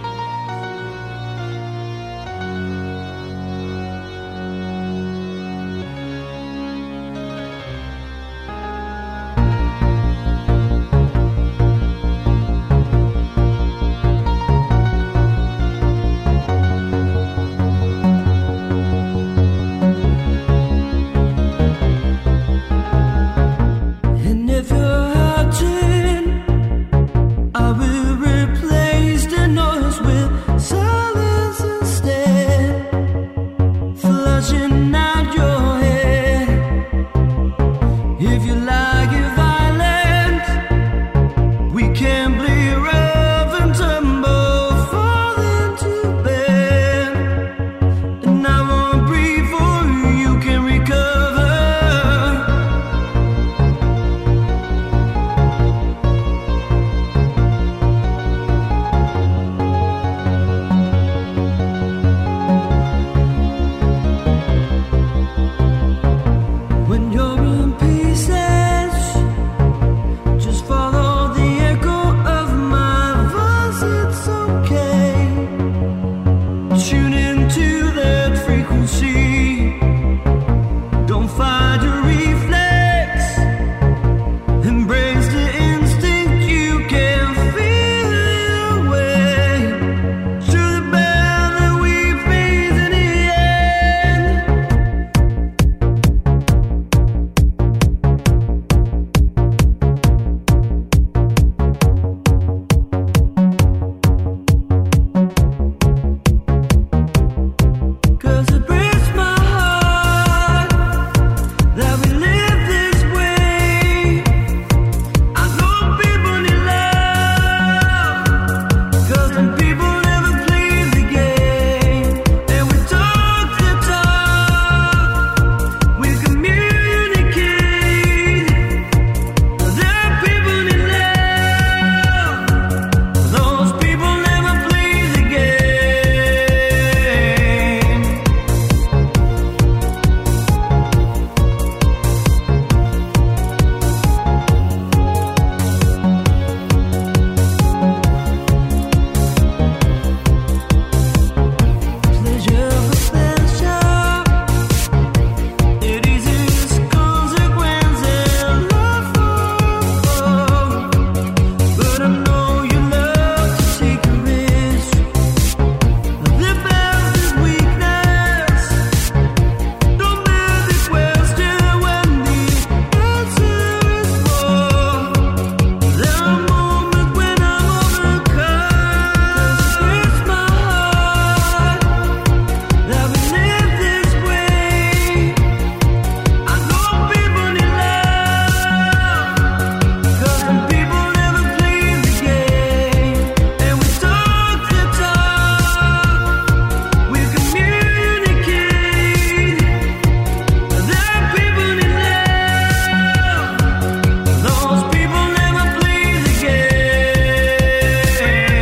And if you're hurting, I will replace the noise with silence instead, flushing out your head. If you like it violent, we can play rough and tumble, fall into bed, and I won't breathe for you, you can recover. When you're in pieces, just follow the echo of my voice, it's okay. Tune into that frequency. Don't fight your reflex. Embrace the instinct, you can feel it away. Through the bell that we face in the end. Cause it breaks my heart that we live this way. I know people need love, cause some people never play the game. And we talk the talk, we communicate. There are people need love, those people never play the game. Pleasure for pleasure, it is its consequences. Love for but I know you love to take a risk. The best is weakness. Don't bear the question when the answer is war. There are moments when I'm overcome. It's my heart that we live this way. I know people need love, cause some people never play the game. And we talk the talk, we communicate. There are people need love, those people never play the game.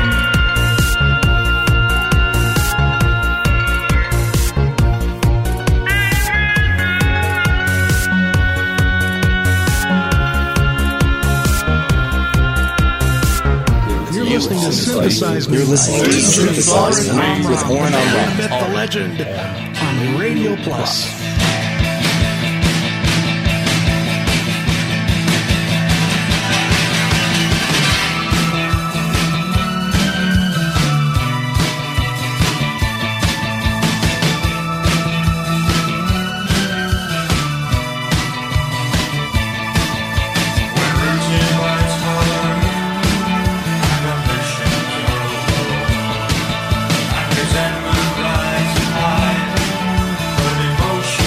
You're listening to Synthesize Me. You're listening to Synthesize Me with Oren Amram. Myth the Legend on Radio Plus. Resentment rises high, but emotion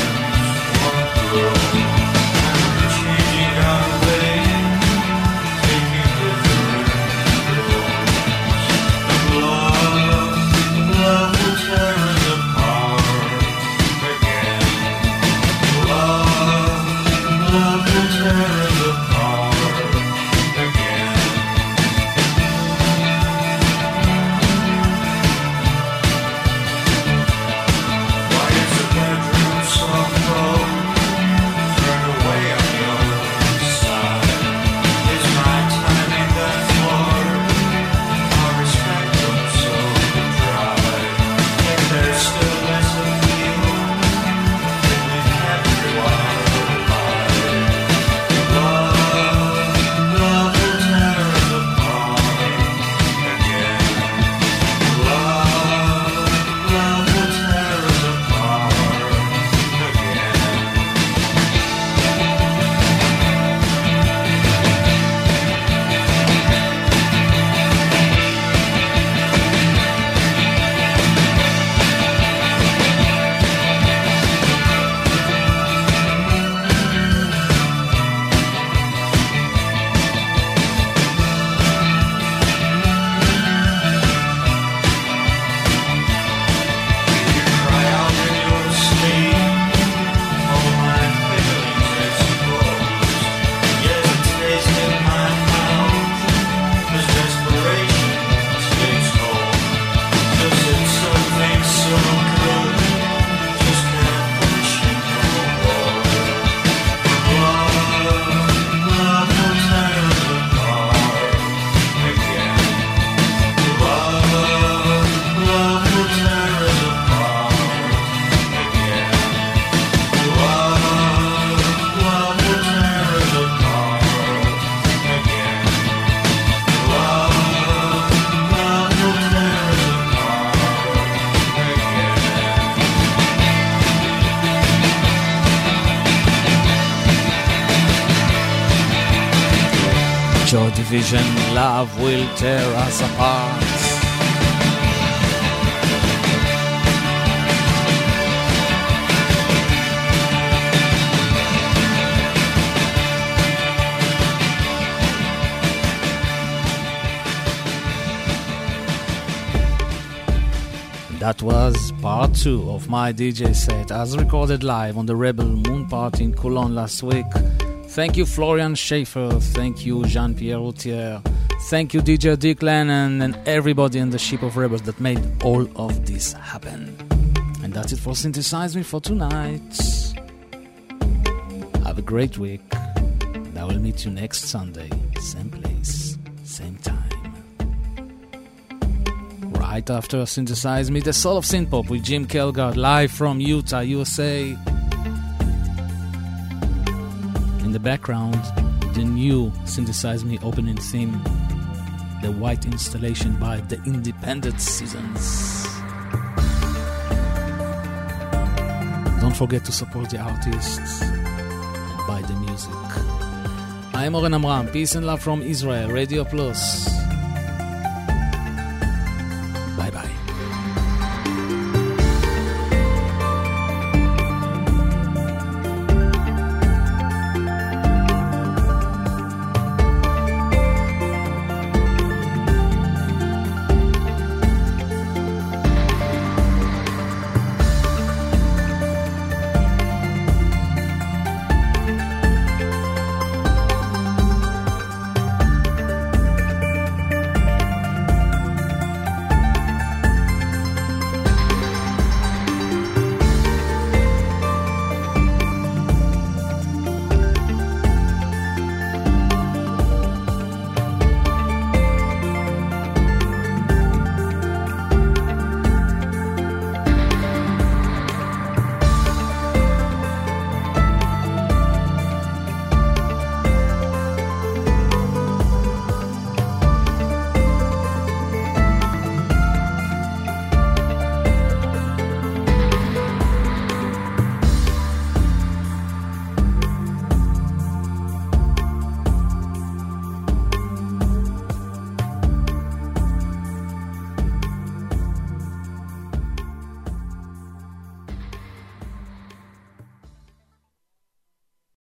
Division, Love Will Tear Us Apart. That was part two of my D J set as recorded live on the Rebel Moon Party in Cologne last week. Thank you Florian Schaefer, thank you Jean-Pierre Routier, thank you D J Dick Lennon and everybody in the Ship of Rebels that made all of this happen. And that's it for Synthesize Me for tonight. Have a great week. And I will meet you next Sunday, same place, same time. Right after Synthesize Me, the Soul of Synthpop with Jim Kelgard live from Utah, U S A. In the background, the new Synthesize Me opening theme, the white installation by the Independent Seasons. Don't forget to support the artists and buy the music. I'm Oren Amram, peace and love from Israel, Radio Plus.